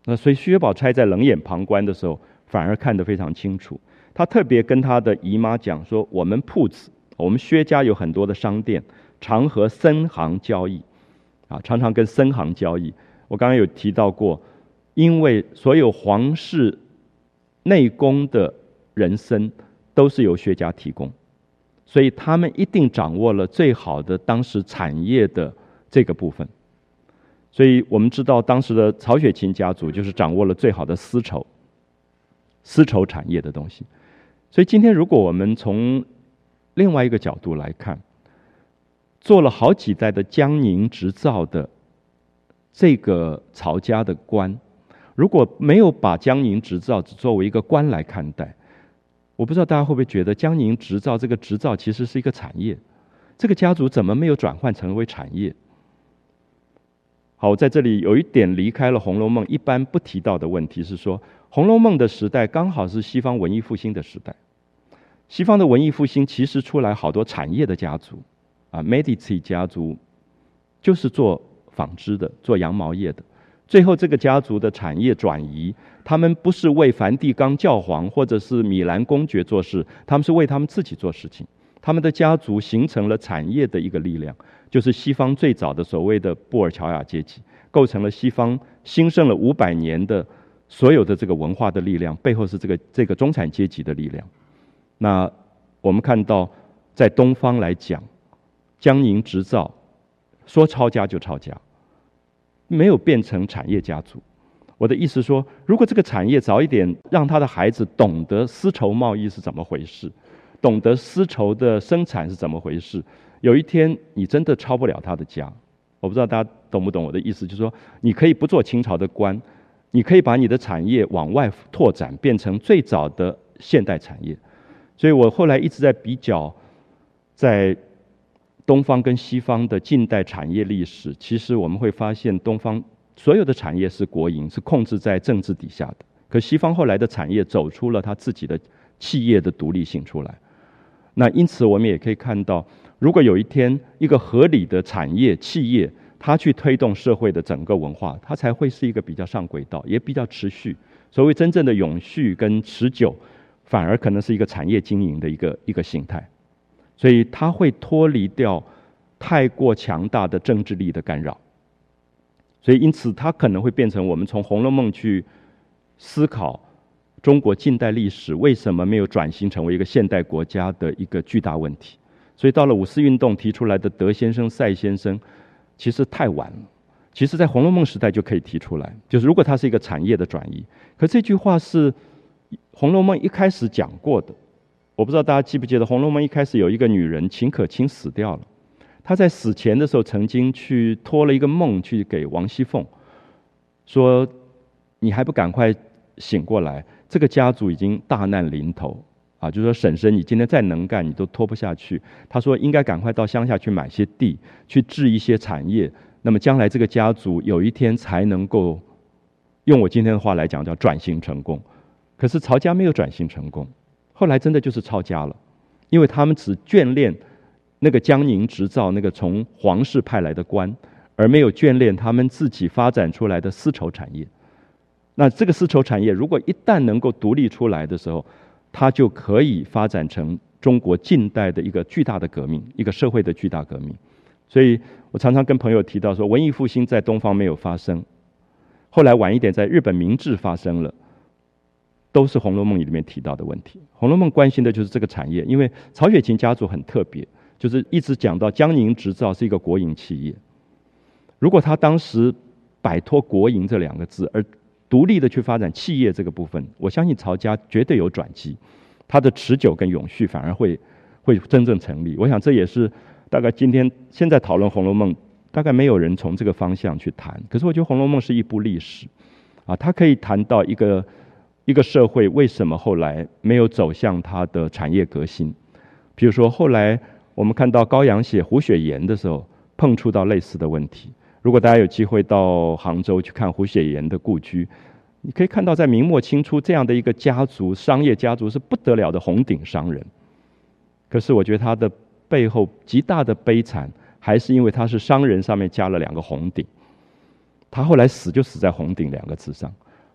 那所以薛宝钗在冷眼旁观的时候，反而看得非常清楚。他特别跟他的姨妈讲说：“我们铺子，我们薛家有很多的商店，常和僧行交易，啊，常常跟僧行交易。我刚刚有提到过，因为所有皇室内宫的人参都是由薛家提供，所以他们一定掌握了最好的当时产业的这个部分。所以我们知道，当时的曹雪芹家族就是掌握了最好的丝绸、丝绸产业的东西。所以今天，如果我们从另外一个角度来看，做了好几代的江宁织造的这个曹家的官，如果没有把江宁织造只作为一个官来看待，我不知道大家会不会觉得江宁织造这个织造其实是一个产业，这个家族怎么没有转换成为产业？好，在这里有一点离开了《红楼梦》一般不提到的问题是说，《红楼梦》的时代刚好是西方文艺复兴的时代。西方的文艺复兴其实出来好多产业的家族，啊 ，Medici 家族就是做纺织的，做羊毛业的。最后这个家族的产业转移，他们不是为梵蒂冈教皇或者是米兰公爵做事，他们是为他们自己做事情。他们的家族形成了产业的一个力量，就是西方最早的所谓的布尔乔亚阶级，构成了西方兴盛了五百年的所有的这个文化的力量，背后是这个这个中产阶级的力量。那我们看到，在东方来讲，江宁织造说抄家就抄家，没有变成产业家族。我的意思说，如果这个产业早一点让他的孩子懂得丝绸贸易是怎么回事，懂得丝绸的生产是怎么回事，有一天你真的抄不了他的家。我不知道大家懂不懂我的意思，就是说你可以不做清朝的官，你可以把你的产业往外拓展，变成最早的现代产业。所以我后来一直在比较，在东方跟西方的近代产业历史，其实我们会发现东方所有的产业是国营，是控制在政治底下的，可西方后来的产业走出了它自己的企业的独立性出来。那因此我们也可以看到，如果有一天一个合理的产业企业，它去推动社会的整个文化，它才会是一个比较上轨道，也比较持续。所谓真正的永续跟持久，反而可能是一个产业经营的一个一个形态。所以它会脱离掉太过强大的政治力的干扰。所以因此它可能会变成我们从《红楼梦》去思考中国近代历史为什么没有转型成为一个现代国家的一个巨大问题。所以到了五四运动提出来的德先生、赛先生，其实太晚了。其实在《红楼梦》时代就可以提出来，就是如果它是一个产业的转移。可这句话是《红楼梦》一开始讲过的。我不知道大家记不记得，《红楼梦》一开始有一个女人秦可卿死掉了，她在死前的时候曾经去托了一个梦去给王熙凤，说你还不赶快醒过来，这个家族已经大难临头啊！就说婶婶，你今天再能干，你都拖不下去。他说应该赶快到乡下去买些地，去置一些产业，那么将来这个家族有一天才能够，用我今天的话来讲叫转型成功。可是曹家没有转型成功，后来真的就是抄家了，因为他们只眷恋那个江宁织造那个从皇室派来的官，而没有眷恋他们自己发展出来的丝绸产业。那这个丝绸产业如果一旦能够独立出来的时候，它就可以发展成中国近代的一个巨大的革命，一个社会的巨大革命。所以我常常跟朋友提到说，文艺复兴在东方没有发生，后来晚一点在日本明治发生了，都是《红楼梦》里面提到的问题。《红楼梦》关心的就是这个产业，因为曹雪芹家族很特别，就是一直讲到江宁织造是一个国营企业。如果他当时摆脱国营这两个字，而独立的去发展企业这个部分，我相信曹家绝对有转机，它的持久跟永续反而会会真正成立。我想这也是大概今天现在讨论《红楼梦》，大概没有人从这个方向去谈。可是我觉得《红楼梦》是一部历史啊，它可以谈到一个一个社会为什么后来没有走向它的产业革新。比如说后来我们看到高阳写胡雪岩的时候，碰触到类似的问题。如果大家有机会到杭州去看胡雪岩的故居，你可以看到在明末清初这样的一个家族，商业家族是不得了的红顶商人。可是我觉得他的背后极大的悲惨，还是因为他是商人上面加了两个红顶。他后来死就死在红顶两个字上，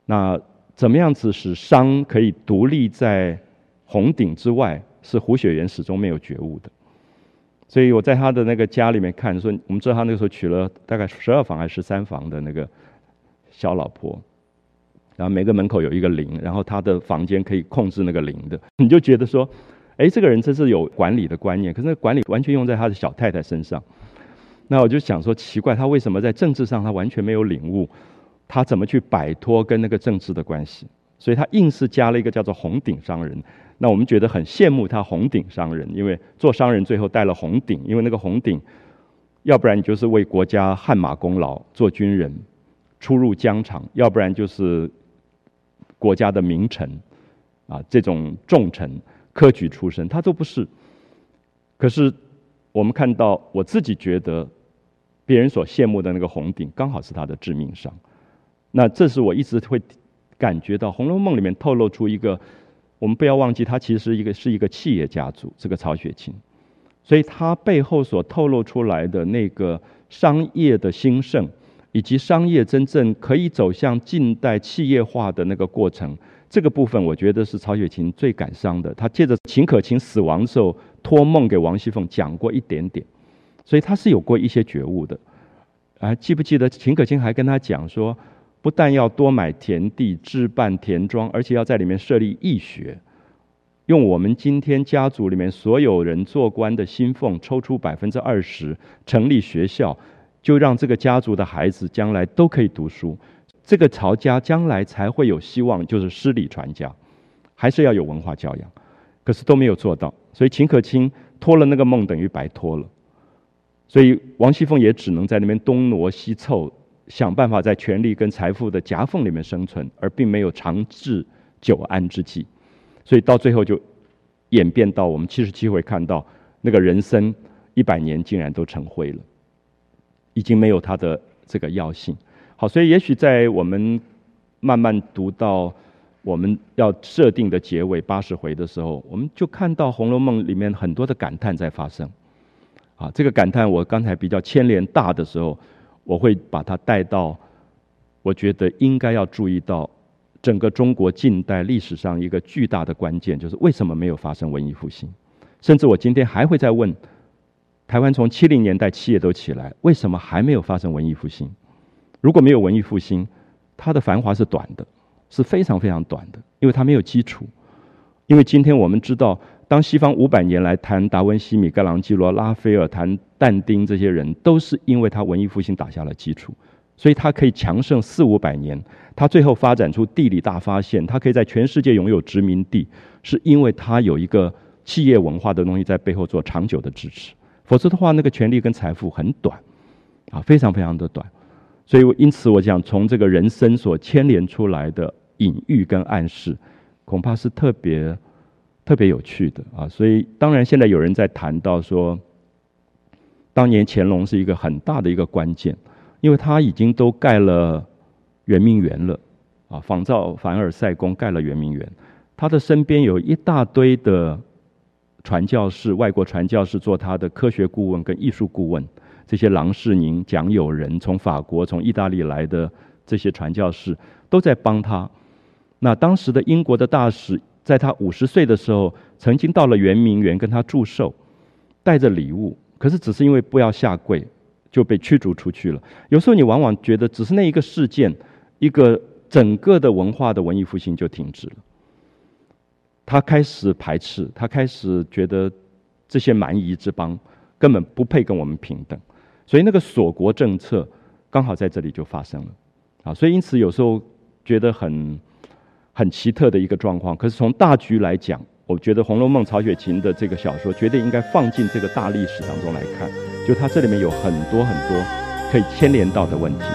那怎么样子使商可以独立在红顶之外，是胡雪岩始终没有觉悟的。所以我在他的那个家里面看，说我们知道他那个时候娶了大概十二房还是十三房的那个小老婆，然后每个门口有一个铃，然后他的房间可以控制那个铃的，你就觉得说，哎，这个人真是有管理的观念，可是那个管理完全用在他的小太太身上。那我就想说，奇怪，他为什么在政治上他完全没有领悟？他怎么去摆脱跟那个政治的关系？所以他硬是加了一个叫做红顶商人。那我们觉得很羡慕他红顶商人，因为做商人最后带了红顶，因为那个红顶，要不然你就是为国家汗马功劳，做军人，出入疆场；要不然就是国家的名臣，啊，这种重臣、科举出身，他都不是。可是我们看到，我自己觉得，别人所羡慕的那个红顶，刚好是他的致命伤。那这是我一直会感觉到，《红楼梦》里面透露出一个，我们不要忘记，他其实是一个是一个企业家族，这个曹雪芹，所以他背后所透露出来的那个商业的兴盛，以及商业真正可以走向近代企业化的那个过程，这个部分我觉得是曹雪芹最感伤的。他借着秦可卿死亡的时候托梦给王熙凤讲过一点点，所以他是有过一些觉悟的。啊，记不记得秦可卿还跟他讲说，不但要多买田地置办田庄，而且要在里面设立义学，用我们今天家族里面所有人做官的薪俸抽出百分之二十，成立学校，就让这个家族的孩子将来都可以读书，这个曹家将来才会有希望，就是诗礼传家，还是要有文化教养。可是都没有做到，所以秦可卿托了那个梦，等于白托了。所以王熙凤也只能在那边东挪西凑，想办法在权力跟财富的夹缝里面生存，而并没有长治久安之计。所以到最后就演变到我们七十七回看到那个人生一百年竟然都成灰了，已经没有它的这个药性。好，所以也许在我们慢慢读到我们要设定的结尾八十回的时候，我们就看到《红楼梦》里面很多的感叹在发生。啊，这个感叹我刚才比较牵连大的时候，我会把它带到，我觉得应该要注意到整个中国近代历史上一个巨大的关键，就是为什么没有发生文艺复兴？甚至我今天还会再问，台湾从七零年代企业都起来，为什么还没有发生文艺复兴？如果没有文艺复兴，它的繁华是短的，是非常非常短的，因为它没有基础。因为今天我们知道，当西方五百年来谈达文西、米开朗基罗、拉斐尔、谈但丁这些人，都是因为他文艺复兴打下了基础，所以他可以强盛四五百年。他最后发展出地理大发现，他可以在全世界拥有殖民地，是因为他有一个企业文化的东西在背后做长久的支持。否则的话，那个权力跟财富很短，啊，非常非常的短。所以因此我想，从这个人生所牵连出来的隐喻跟暗示，恐怕是特别特别有趣的啊。所以当然现在有人在谈到说，当年乾隆是一个很大的一个关键，因为他已经都盖了圆明园了啊，仿造凡尔赛宫盖了圆明园，他的身边有一大堆的传教士，外国传教士做他的科学顾问跟艺术顾问，这些郎世宁、蒋友仁，从法国、从意大利来的这些传教士都在帮他。那当时的英国的大使，在他五十岁的时候，曾经到了圆明园跟他祝寿，带着礼物，可是只是因为不要下跪，就被驱逐出去了。有时候你往往觉得，只是那一个事件，一个整个的文化的文艺复兴就停止了。他开始排斥，他开始觉得这些蛮夷之邦根本不配跟我们平等，所以那个锁国政策刚好在这里就发生了啊。所以因此有时候觉得很很奇特的一个状况。可是从大局来讲，我觉得《红楼梦》曹雪芹的这个小说绝对应该放进这个大历史当中来看，就它这里面有很多很多可以牵连到的问题。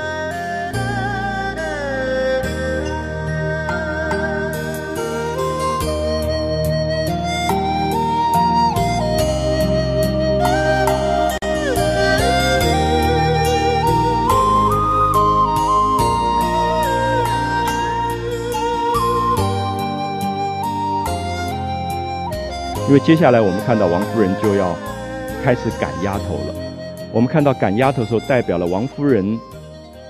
因为接下来我们看到王夫人就要开始赶丫头了。我们看到赶丫头的时候，代表了王夫人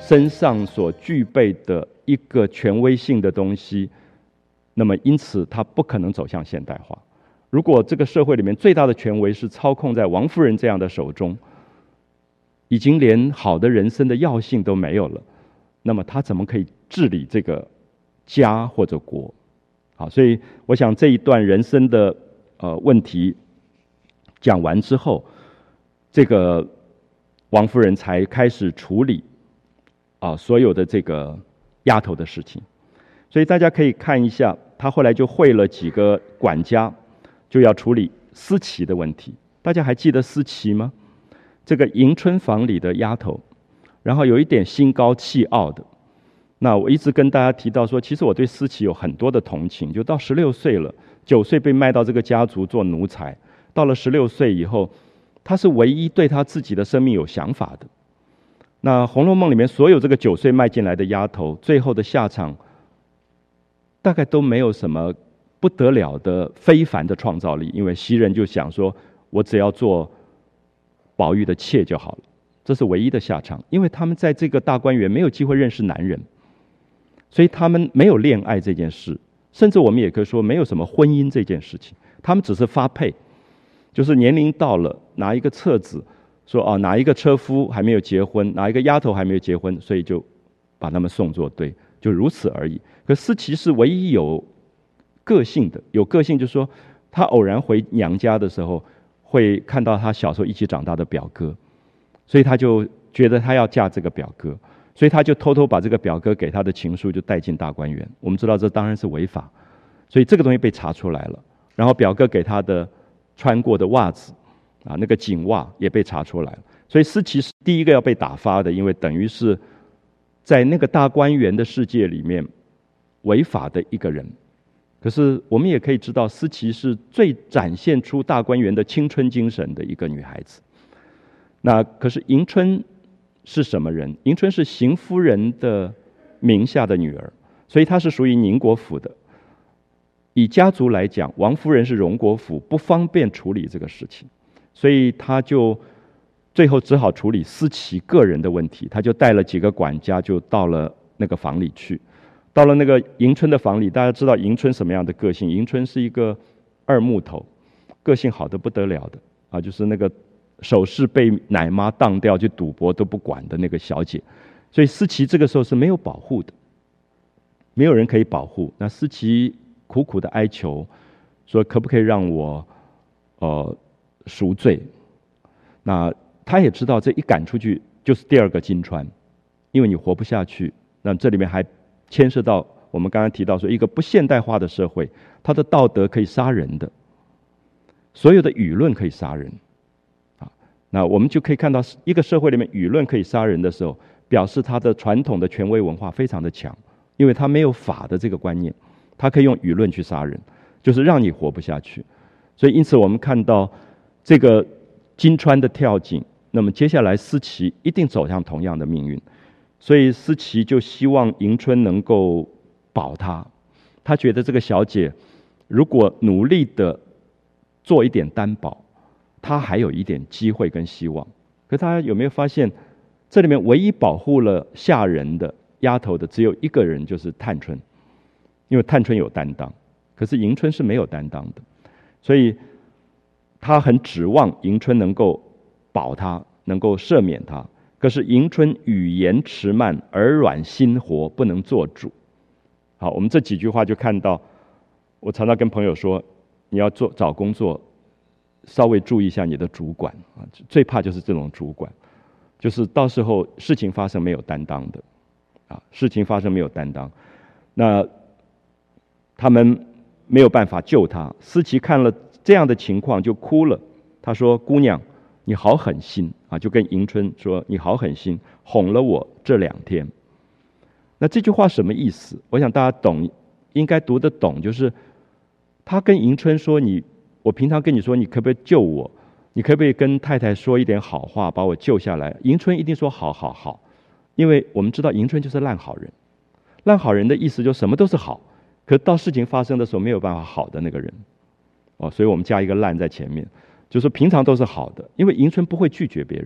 身上所具备的一个权威性的东西，那么因此他不可能走向现代化。如果这个社会里面最大的权威是操控在王夫人这样的手中，已经连好的人生的要性都没有了，那么他怎么可以治理这个家或者国？好，所以我想这一段人生的呃问题讲完之后，这个王夫人才开始处理啊所有的这个丫头的事情。所以大家可以看一下，他后来就会了几个管家，就要处理思琪的问题。大家还记得思琪吗？这个迎春房里的丫头，然后有一点心高气傲的。那我一直跟大家提到说，其实我对思琪有很多的同情。就到十六岁了，九岁被卖到这个家族做奴才，到了十六岁以后，他是唯一对他自己的生命有想法的。那《红楼梦》里面所有这个九岁卖进来的丫头，最后的下场大概都没有什么不得了的非凡的创造力，因为袭人就想说，我只要做宝玉的妾就好了，这是唯一的下场。因为他们在这个大观园没有机会认识男人，所以他们没有恋爱这件事，甚至我们也可以说没有什么婚姻这件事情，他们只是发配，就是年龄到了，拿一个册子说哦，哪一个车夫还没有结婚，哪一个丫头还没有结婚，所以就把他们送作对，就如此而已。可思琪是唯一有个性的，有个性就是说，她偶然回娘家的时候，会看到她小时候一起长大的表哥，所以她就觉得她要嫁这个表哥，所以她就偷偷把这个表哥给她的情书就带进大观园。我们知道这当然是违法，所以这个东西被查出来了。然后表哥给她的穿过的袜子啊，那个锦袜也被查出来了。所以思琪是第一个要被打发的，因为等于是在那个大观园的世界里面违法的一个人。可是我们也可以知道，思琪是最展现出大观园的青春精神的一个女孩子。那可是迎春是什么人？迎春是邢夫人的名下的女儿，所以她是属于宁国府的。以家族来讲，王夫人是荣国府，不方便处理这个事情，所以她就最后只好处理思琪个人的问题。她就带了几个管家，就到了那个房里去。到了那个迎春的房里，大家知道迎春什么样的个性？迎春是一个二木头，个性好得不得了的啊，就是那个首饰被奶妈当掉去赌博都不管的那个小姐。所以思琪这个时候是没有保护的，没有人可以保护。那思琪苦苦的哀求，说可不可以让我呃赎罪？那他也知道这一赶出去就是第二个金钏，因为你活不下去。那这里面还牵涉到我们刚刚提到说，一个不现代化的社会，它的道德可以杀人的，所有的舆论可以杀人啊。那我们就可以看到，一个社会里面舆论可以杀人的时候，表示它的传统的权威文化非常的强，因为它没有法的这个观念，它可以用舆论去杀人，就是让你活不下去。所以因此我们看到这个金钏的跳井，那么接下来思琪一定走向同样的命运。所以思琪就希望迎春能够保她，她觉得这个小姐如果努力的做一点担保，她还有一点机会跟希望。可大家有没有发现，这里面唯一保护了下人的丫头的只有一个人，就是探春，因为探春有担当，可是迎春是没有担当的，所以她很指望迎春能够保她，能够赦免她。可是迎春语言迟慢，耳软心活，不能做主。好，我们这几句话就看到，我常常跟朋友说，你要做找工作，稍微注意一下你的主管啊，最怕就是这种主管，就是到时候事情发生没有担当的，啊，事情发生没有担当，那他们没有办法救他。思琪看了这样的情况就哭了，他说：“姑娘，你好狠心啊！”就跟迎春说：“你好狠心，哄了我这两天。”那这句话什么意思？我想大家懂，应该读得懂。就是他跟迎春说：“你，我平常跟你说，你可不可以救我？你可不可以跟太太说一点好话，把我救下来？”迎春一定说：“好好好。”因为我们知道迎春就是烂好人。烂好人的意思就什么都是好，可到事情发生的时候没有办法好的那个人。哦，所以我们加一个烂在前面。就是平常都是好的，因为迎春不会拒绝别人，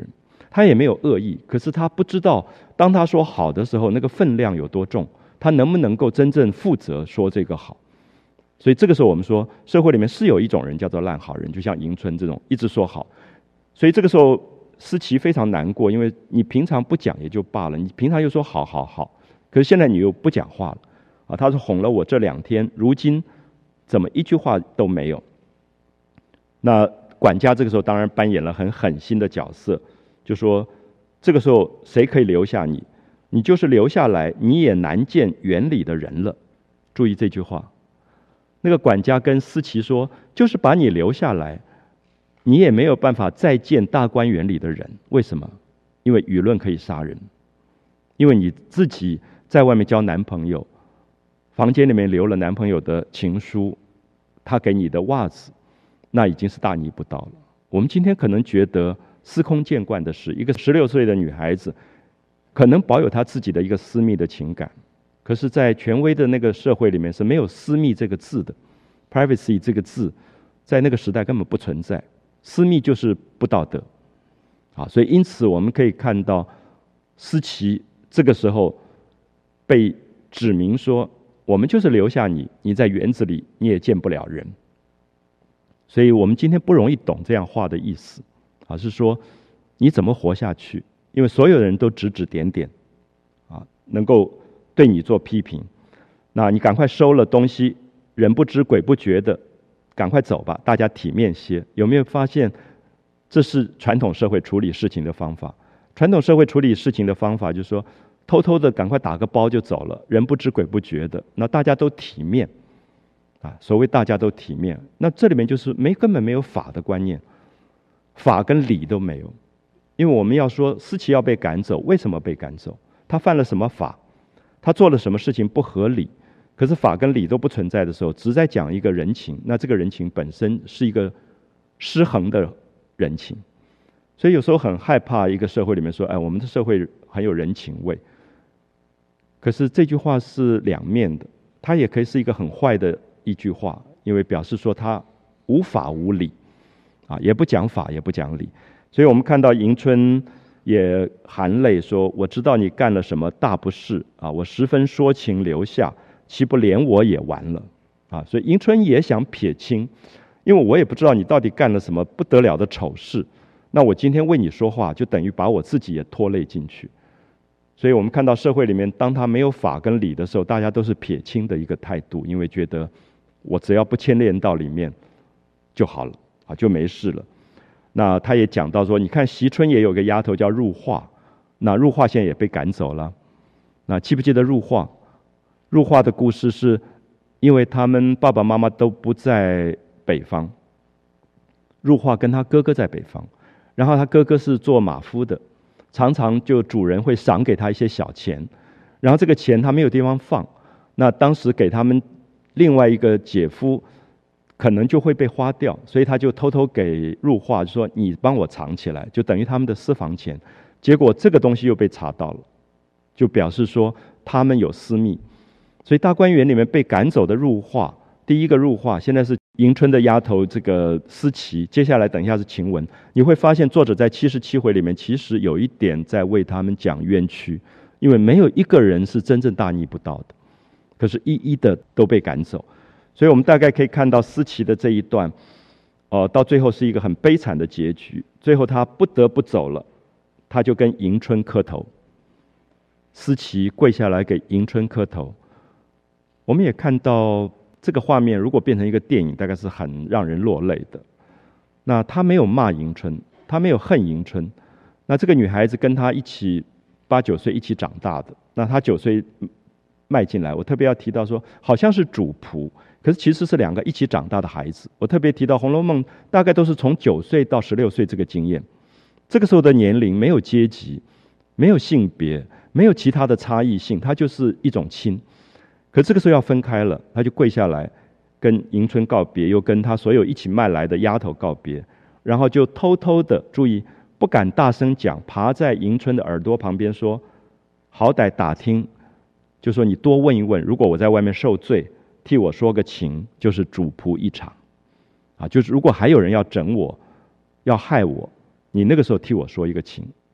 他也没有恶意，可是他不知道当他说好的时候，那个分量有多重，他能不能够真正负责说这个好。所以这个时候我们说，社会里面是有一种人叫做烂好人，就像迎春这种一直说好。所以这个时候思琪非常难过，因为你平常不讲也就罢了，你平常又说好好好，可是现在你又不讲话了啊！他说哄了我这两天，如今怎么一句话都没有？那管家这个时候当然扮演了很狠心的角色，就说这个时候谁可以留下你？你就是留下来，你也难见园里的人了。注意这句话。那个管家跟思琪说，就是把你留下来，你也没有办法再见大观园里的人。为什么？因为舆论可以杀人，因为你自己在外面交男朋友，房间里面留了男朋友的情书，他给你的袜子，那已经是大逆不道了。我们今天可能觉得司空见惯的是，一个十六岁的女孩子可能保有她自己的一个私密的情感，可是在权威的那个社会里面是没有私密这个字的， privacy 这个字在那个时代根本不存在，私密就是不道德啊。所以因此我们可以看到思琪这个时候被指明说，我们就是留下你，你在园子里你也见不了人。所以我们今天不容易懂这样话的意思啊，是说你怎么活下去？因为所有人都指指点点啊，能够对你做批评，那你赶快收了东西，人不知鬼不觉的赶快走吧，大家体面些。有没有发现这是传统社会处理事情的方法？传统社会处理事情的方法就是说，偷偷的赶快打个包就走了，人不知鬼不觉的，那大家都体面啊。所谓大家都体面，那这里面就是没根本没有法的观念，法跟理都没有。因为我们要说思琪要被赶走，为什么被赶走？他犯了什么法？他做了什么事情不合理？可是法跟理都不存在的时候，只在讲一个人情，那这个人情本身是一个失衡的人情。所以有时候很害怕一个社会里面说，哎，我们的社会很有人情味。可是这句话是两面的，它也可以是一个很坏的一句话，因为表示说他无法无理啊，也不讲法，也不讲理。所以我们看到迎春也含泪说，我知道你干了什么大不是啊，我十分说情留下，岂不连我也完了啊？所以迎春也想撇清，因为我也不知道你到底干了什么不得了的丑事，那我今天为你说话，就等于把我自己也拖累进去。所以我们看到社会里面，当他没有法跟理的时候，大家都是撇清的一个态度，因为觉得我只要不牵连到里面就好了啊，就没事了。那他也讲到说，你看惜春也有个丫头叫入画，那入画现在也被赶走了。那记不记得入画？入画的故事是因为他们爸爸妈妈都不在北方，入画跟他哥哥在北方，然后他哥哥是做马夫的，常常就主人会赏给他一些小钱，然后这个钱他没有地方放，那当时给他们另外一个姐夫可能就会被花掉，所以他就偷偷给入画，就说你帮我藏起来，就等于他们的私房钱。结果这个东西又被查到了，就表示说他们有私密。所以大观园里面被赶走的入画，第一个入画现在是迎春的丫头这个思琪，接下来等一下是晴雯。你会发现作者在七十七回里面其实有一点在为他们讲冤屈，因为没有一个人是真正大逆不道的，可是一一的都被赶走。所以我们大概可以看到思琪的这一段，呃，到最后是一个很悲惨的结局。最后他不得不走了，他就跟迎春磕头，思琪跪下来给迎春磕头。我们也看到这个画面，如果变成一个电影，大概是很让人落泪的。那他没有骂迎春，他没有恨迎春。那这个女孩子跟他一起八九岁一起长大的，那他九岁迈进来，我特别要提到说，好像是主仆，可是其实是两个一起长大的孩子。我特别提到《红楼梦》大概都是从九岁到十六岁这个经验，这个时候的年龄没有阶级，没有性别，没有其他的差异性，它就是一种亲。可这个时候要分开了，他就跪下来跟迎春告别，又跟他所有一起卖来的丫头告别，然后就偷偷的，注意不敢大声讲，爬在迎春的耳朵旁边说，好歹打听，就说你多问一问，如果我在外面受罪，替我说个情，就是主仆一场啊，就是如果还有人要整我，要害我，你那个时候替我说一个情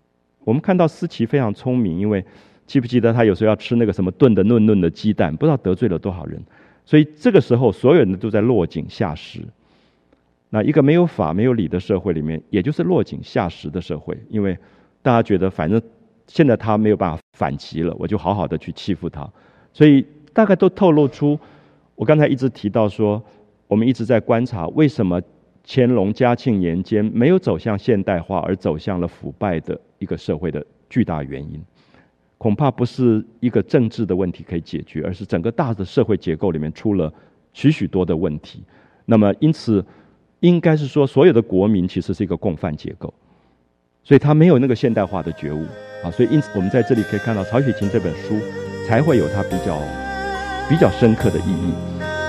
我们看到思琪非常聪明，因为记不记得他有时候要吃那个什么炖的嫩嫩的鸡蛋，不知道得罪了多少人。所以这个时候所有人都在落井下石。那一个没有法没有理的社会里面，也就是落井下石的社会，因为大家觉得反正现在他没有办法反击了，我就好好的去欺负他。所以大概都透露出，我刚才一直提到说，我们一直在观察为什么乾隆嘉庆年间没有走向现代化，而走向了腐败的一个社会的巨大原因。恐怕不是一个政治的问题可以解决，而是整个大的社会结构里面出了许许多的问题。那么因此应该是说，所有的国民其实是一个共犯结构，所以他没有那个现代化的觉悟啊。所以因此我们在这里可以看到曹雪芹这本书才会有它比较比较深刻的意义。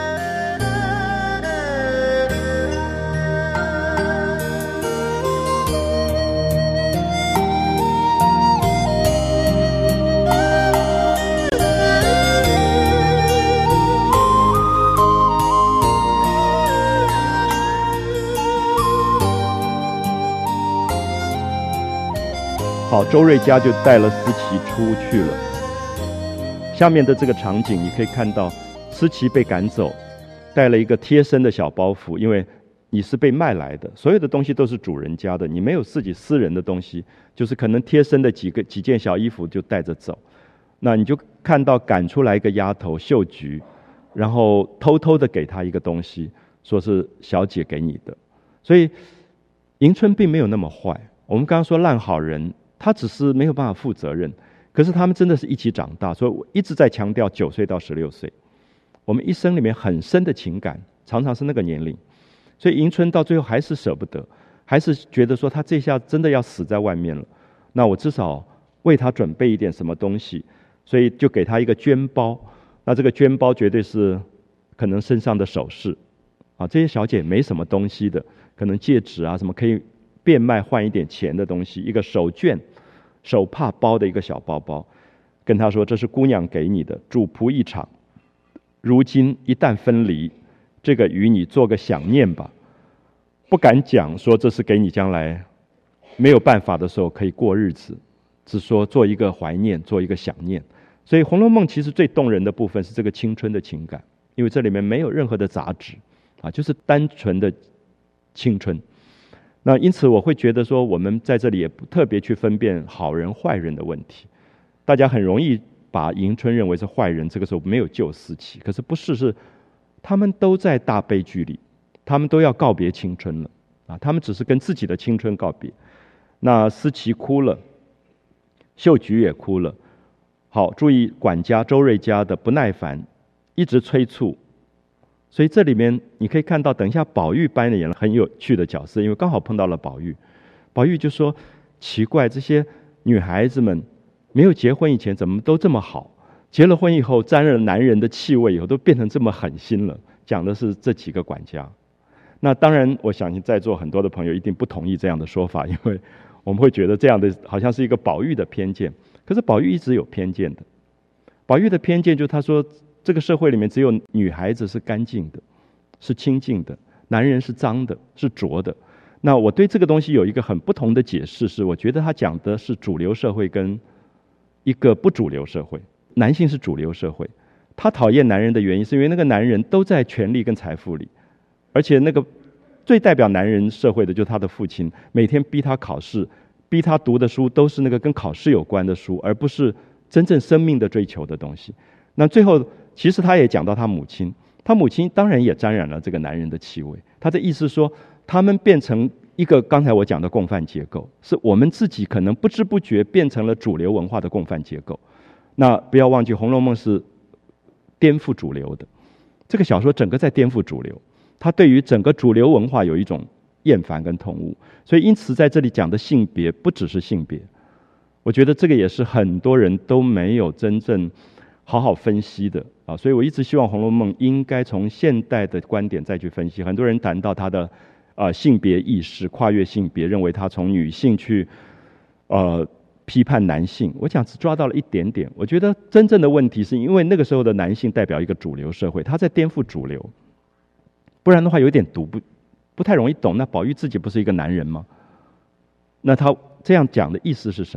好，周瑞家就带了思琪出去了。下面的这个场景你可以看到，思琪被赶走，带了一个贴身的小包袱，因为你是被卖来的，所有的东西都是主人家的，你没有自己私人的东西，就是可能贴身的几个几件小衣服就带着走。那你就看到赶出来一个丫头秀菊，然后偷偷的给她一个东西，说是小姐给你的。所以迎春并没有那么坏，我们刚刚说烂好人，他只是没有办法负责任，可是他们真的是一起长大，所以我一直在强调九岁到十六岁，我们一生里面很深的情感常常是那个年龄，所以迎春到最后还是舍不得，还是觉得说他这下真的要死在外面了，那我至少为他准备一点什么东西，所以就给他一个绢包。那这个绢包绝对是可能身上的首饰啊，这些小姐没什么东西的，可能戒指啊什么可以变卖换一点钱的东西，一个手绢手帕包的一个小包包，跟他说这是姑娘给你的，主仆一场，如今一旦分离，这个与你做个想念吧。不敢讲说这是给你将来没有办法的时候可以过日子，只说做一个怀念，做一个想念。所以《红楼梦》其实最动人的部分是这个青春的情感，因为这里面没有任何的杂质啊，就是单纯的青春。那因此我会觉得说，我们在这里也不特别去分辨好人坏人的问题。大家很容易把迎春认为是坏人，这个时候没有救思琪，可是不是，是他们都在大悲剧里，他们都要告别青春了啊！他们只是跟自己的青春告别。那思琪哭了，秀菊也哭了。好，注意管家周瑞家的不耐烦，一直催促。所以这里面你可以看到，等一下宝玉扮演了很有趣的角色，因为刚好碰到了宝玉。宝玉就说：奇怪，这些女孩子们没有结婚以前怎么都这么好，结了婚以后沾了男人的气味以后都变成这么狠心了。讲的是这几个管家。那当然我相信在座很多的朋友一定不同意这样的说法，因为我们会觉得这样的好像是一个宝玉的偏见。可是宝玉一直有偏见的，宝玉的偏见就是他说这个社会里面只有女孩子是干净的，是清净的，男人是脏的，是浊的。那我对这个东西有一个很不同的解释，是我觉得他讲的是主流社会跟一个不主流社会。男性是主流社会，他讨厌男人的原因是因为那个男人都在权力跟财富里，而且那个最代表男人社会的就是他的父亲，每天逼他考试，逼他读的书都是那个跟考试有关的书，而不是真正生命的追求的东西。那最后其实他也讲到他母亲，他母亲当然也沾染了这个男人的气味。他的意思说他们变成一个刚才我讲的共犯结构，是我们自己可能不知不觉变成了主流文化的共犯结构。那不要忘记《红楼梦》是颠覆主流的，这个小说整个在颠覆主流，它对于整个主流文化有一种厌烦跟痛恶。所以因此在这里讲的性别不只是性别，我觉得这个也是很多人都没有真正好好分析的啊。所以我一直希望《红楼梦》应该从现代的观点再去分析。很多人谈到它的呃性别意识，跨越性别，认为它从女性去呃批判男性，我讲只抓到了一点点。我觉得真正的问题是因为那个时候的男性代表一个主流社会，他在颠覆主流，不然的话有点读不不太容易懂。那宝玉自己不是一个男人吗？那他这样讲的意思是什么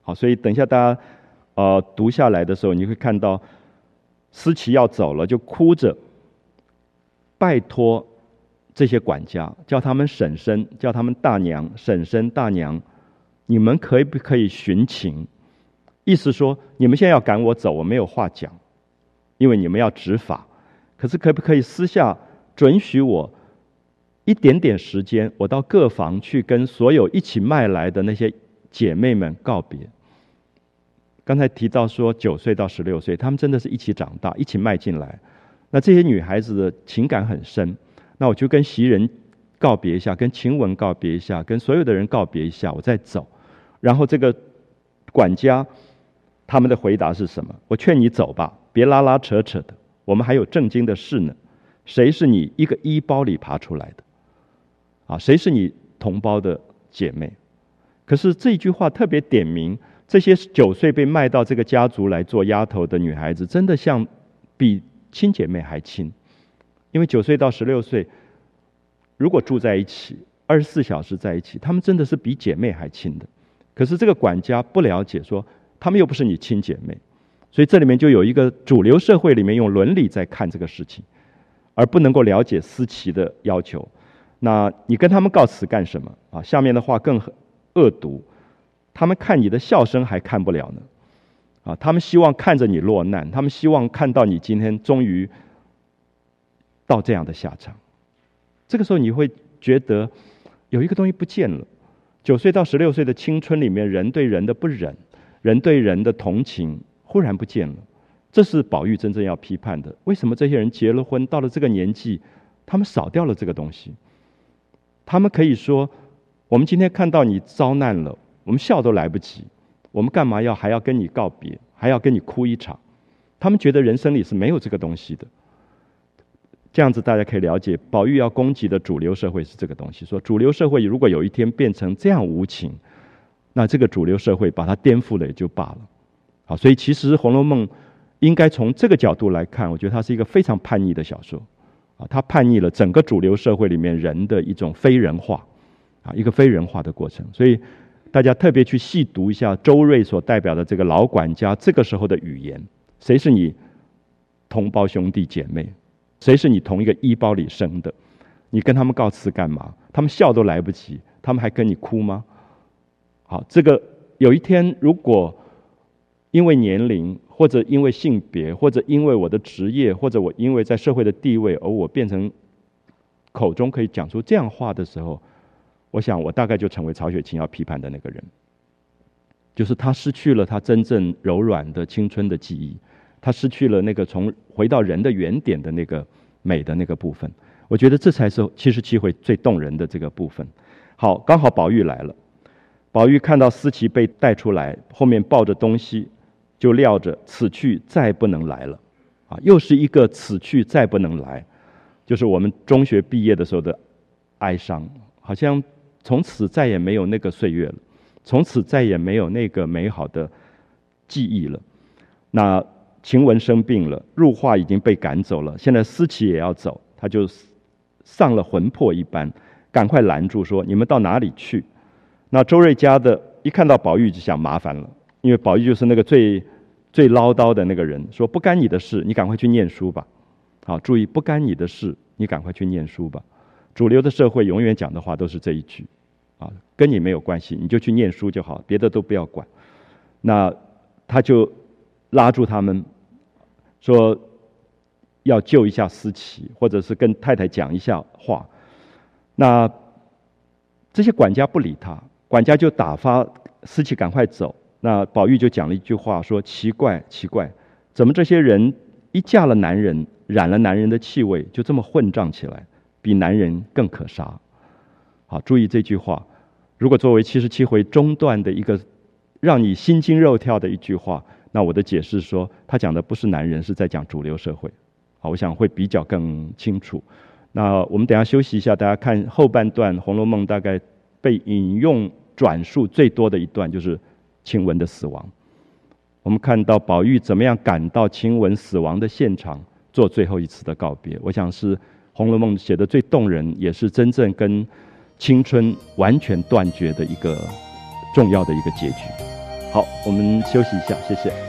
好，所以等一下大家呃读下来的时候，你会看到思琪要走了，就哭着拜托这些管家，叫他们婶婶，叫他们大娘、婶婶、大娘，你们可不可以寻情？意思说，你们现在要赶我走，我没有话讲，因为你们要执法。可是可不可以私下准许我一点点时间，我到各房去跟所有一起迈来的那些姐妹们告别？刚才提到说九岁到十六岁，他们真的是一起长大，一起迈进来。那这些女孩子的情感很深，那我就跟袭人告别一下，跟晴雯告别一下，跟所有的人告别一下，我再走。然后这个管家他们的回答是什么？我劝你走吧，别拉拉扯扯的，我们还有正经的事呢。谁是你一个衣包里爬出来的？啊，谁是你同胞的姐妹？可是这句话特别点明，这些九岁被卖到这个家族来做丫头的女孩子，真的像比亲姐妹还亲。因为九岁到十六岁，如果住在一起，二十四小时在一起，她们真的是比姐妹还亲的。可是这个管家不了解说，她们又不是你亲姐妹，所以这里面就有一个主流社会里面用伦理在看这个事情，而不能够了解思琪的要求。那你跟他们告辞干什么啊？下面的话更恶毒，他们看你的笑声还看不了呢，啊，他们希望看着你落难，他们希望看到你今天终于到这样的下场。这个时候你会觉得有一个东西不见了。九岁到十六岁的青春里面，人对人的不忍，人对人的同情忽然不见了。这是宝玉真正要批判的。为什么这些人结了婚，到了这个年纪，他们少掉了这个东西？他们可以说，我们今天看到你遭难了，我们笑都来不及，我们干嘛要还要跟你告别，还要跟你哭一场？他们觉得人生里是没有这个东西的。这样子大家可以了解，宝玉要攻击的主流社会是这个东西，说主流社会如果有一天变成这样无情，那这个主流社会把它颠覆了也就罢了。好，所以其实《红楼梦》应该从这个角度来看，我觉得它是一个非常叛逆的小说啊，它叛逆了整个主流社会里面人的一种非人化啊，一个非人化的过程。所以大家特别去细读一下周瑞所代表的这个老管家这个时候的语言，谁是你同胞兄弟姐妹？谁是你同一个衣包里生的？你跟他们告辞干嘛？他们笑都来不及，他们还跟你哭吗？好，这个有一天如果因为年龄，或者因为性别，或者因为我的职业，或者我因为在社会的地位，而我变成口中可以讲出这样话的时候，我想我大概就成为曹雪芹要批判的那个人，就是他失去了他真正柔软的青春的记忆，他失去了那个从回到人的原点的那个美的那个部分。我觉得这才是七十七回最动人的这个部分。好，刚好宝玉来了，宝玉看到思琪被带出来，后面抱着东西，就料着此去再不能来了啊，又是一个此去再不能来，就是我们中学毕业的时候的哀伤，好像从此再也没有那个岁月了，从此再也没有那个美好的记忆了。那晴雯生病了，入画已经被赶走了，现在思琪也要走，他就丧了魂魄一般，赶快拦住说：“你们到哪里去？”那周瑞家的一看到宝玉就想麻烦了，因为宝玉就是那个最最唠叨的那个人，说：“不干你的事，你赶快去念书吧。”好，注意，不干你的事，你赶快去念书吧。主流的社会永远讲的话都是这一句，啊，跟你没有关系，你就去念书就好，别的都不要管。那他就拉住他们，说要救一下思琪，或者是跟太太讲一下话。那这些管家不理他，管家就打发思琪赶快走。那宝玉就讲了一句话，说：“奇怪，奇怪，怎么这些人一嫁了男人，染了男人的气味，就这么混账起来，比男人更可杀。”好，注意这句话，如果作为七十七回中段的一个让你心惊肉跳的一句话，那我的解释说，他讲的不是男人，是在讲主流社会。好，我想会比较更清楚。那我们等一下休息一下，大家看后半段《红楼梦》大概被引用转述最多的一段就是晴雯的死亡。我们看到宝玉怎么样赶到晴雯死亡的现场做最后一次的告别，我想是《红楼梦》写的最动人，也是真正跟青春完全断绝的一个重要的一个结局。 好，我们休息一下，谢谢。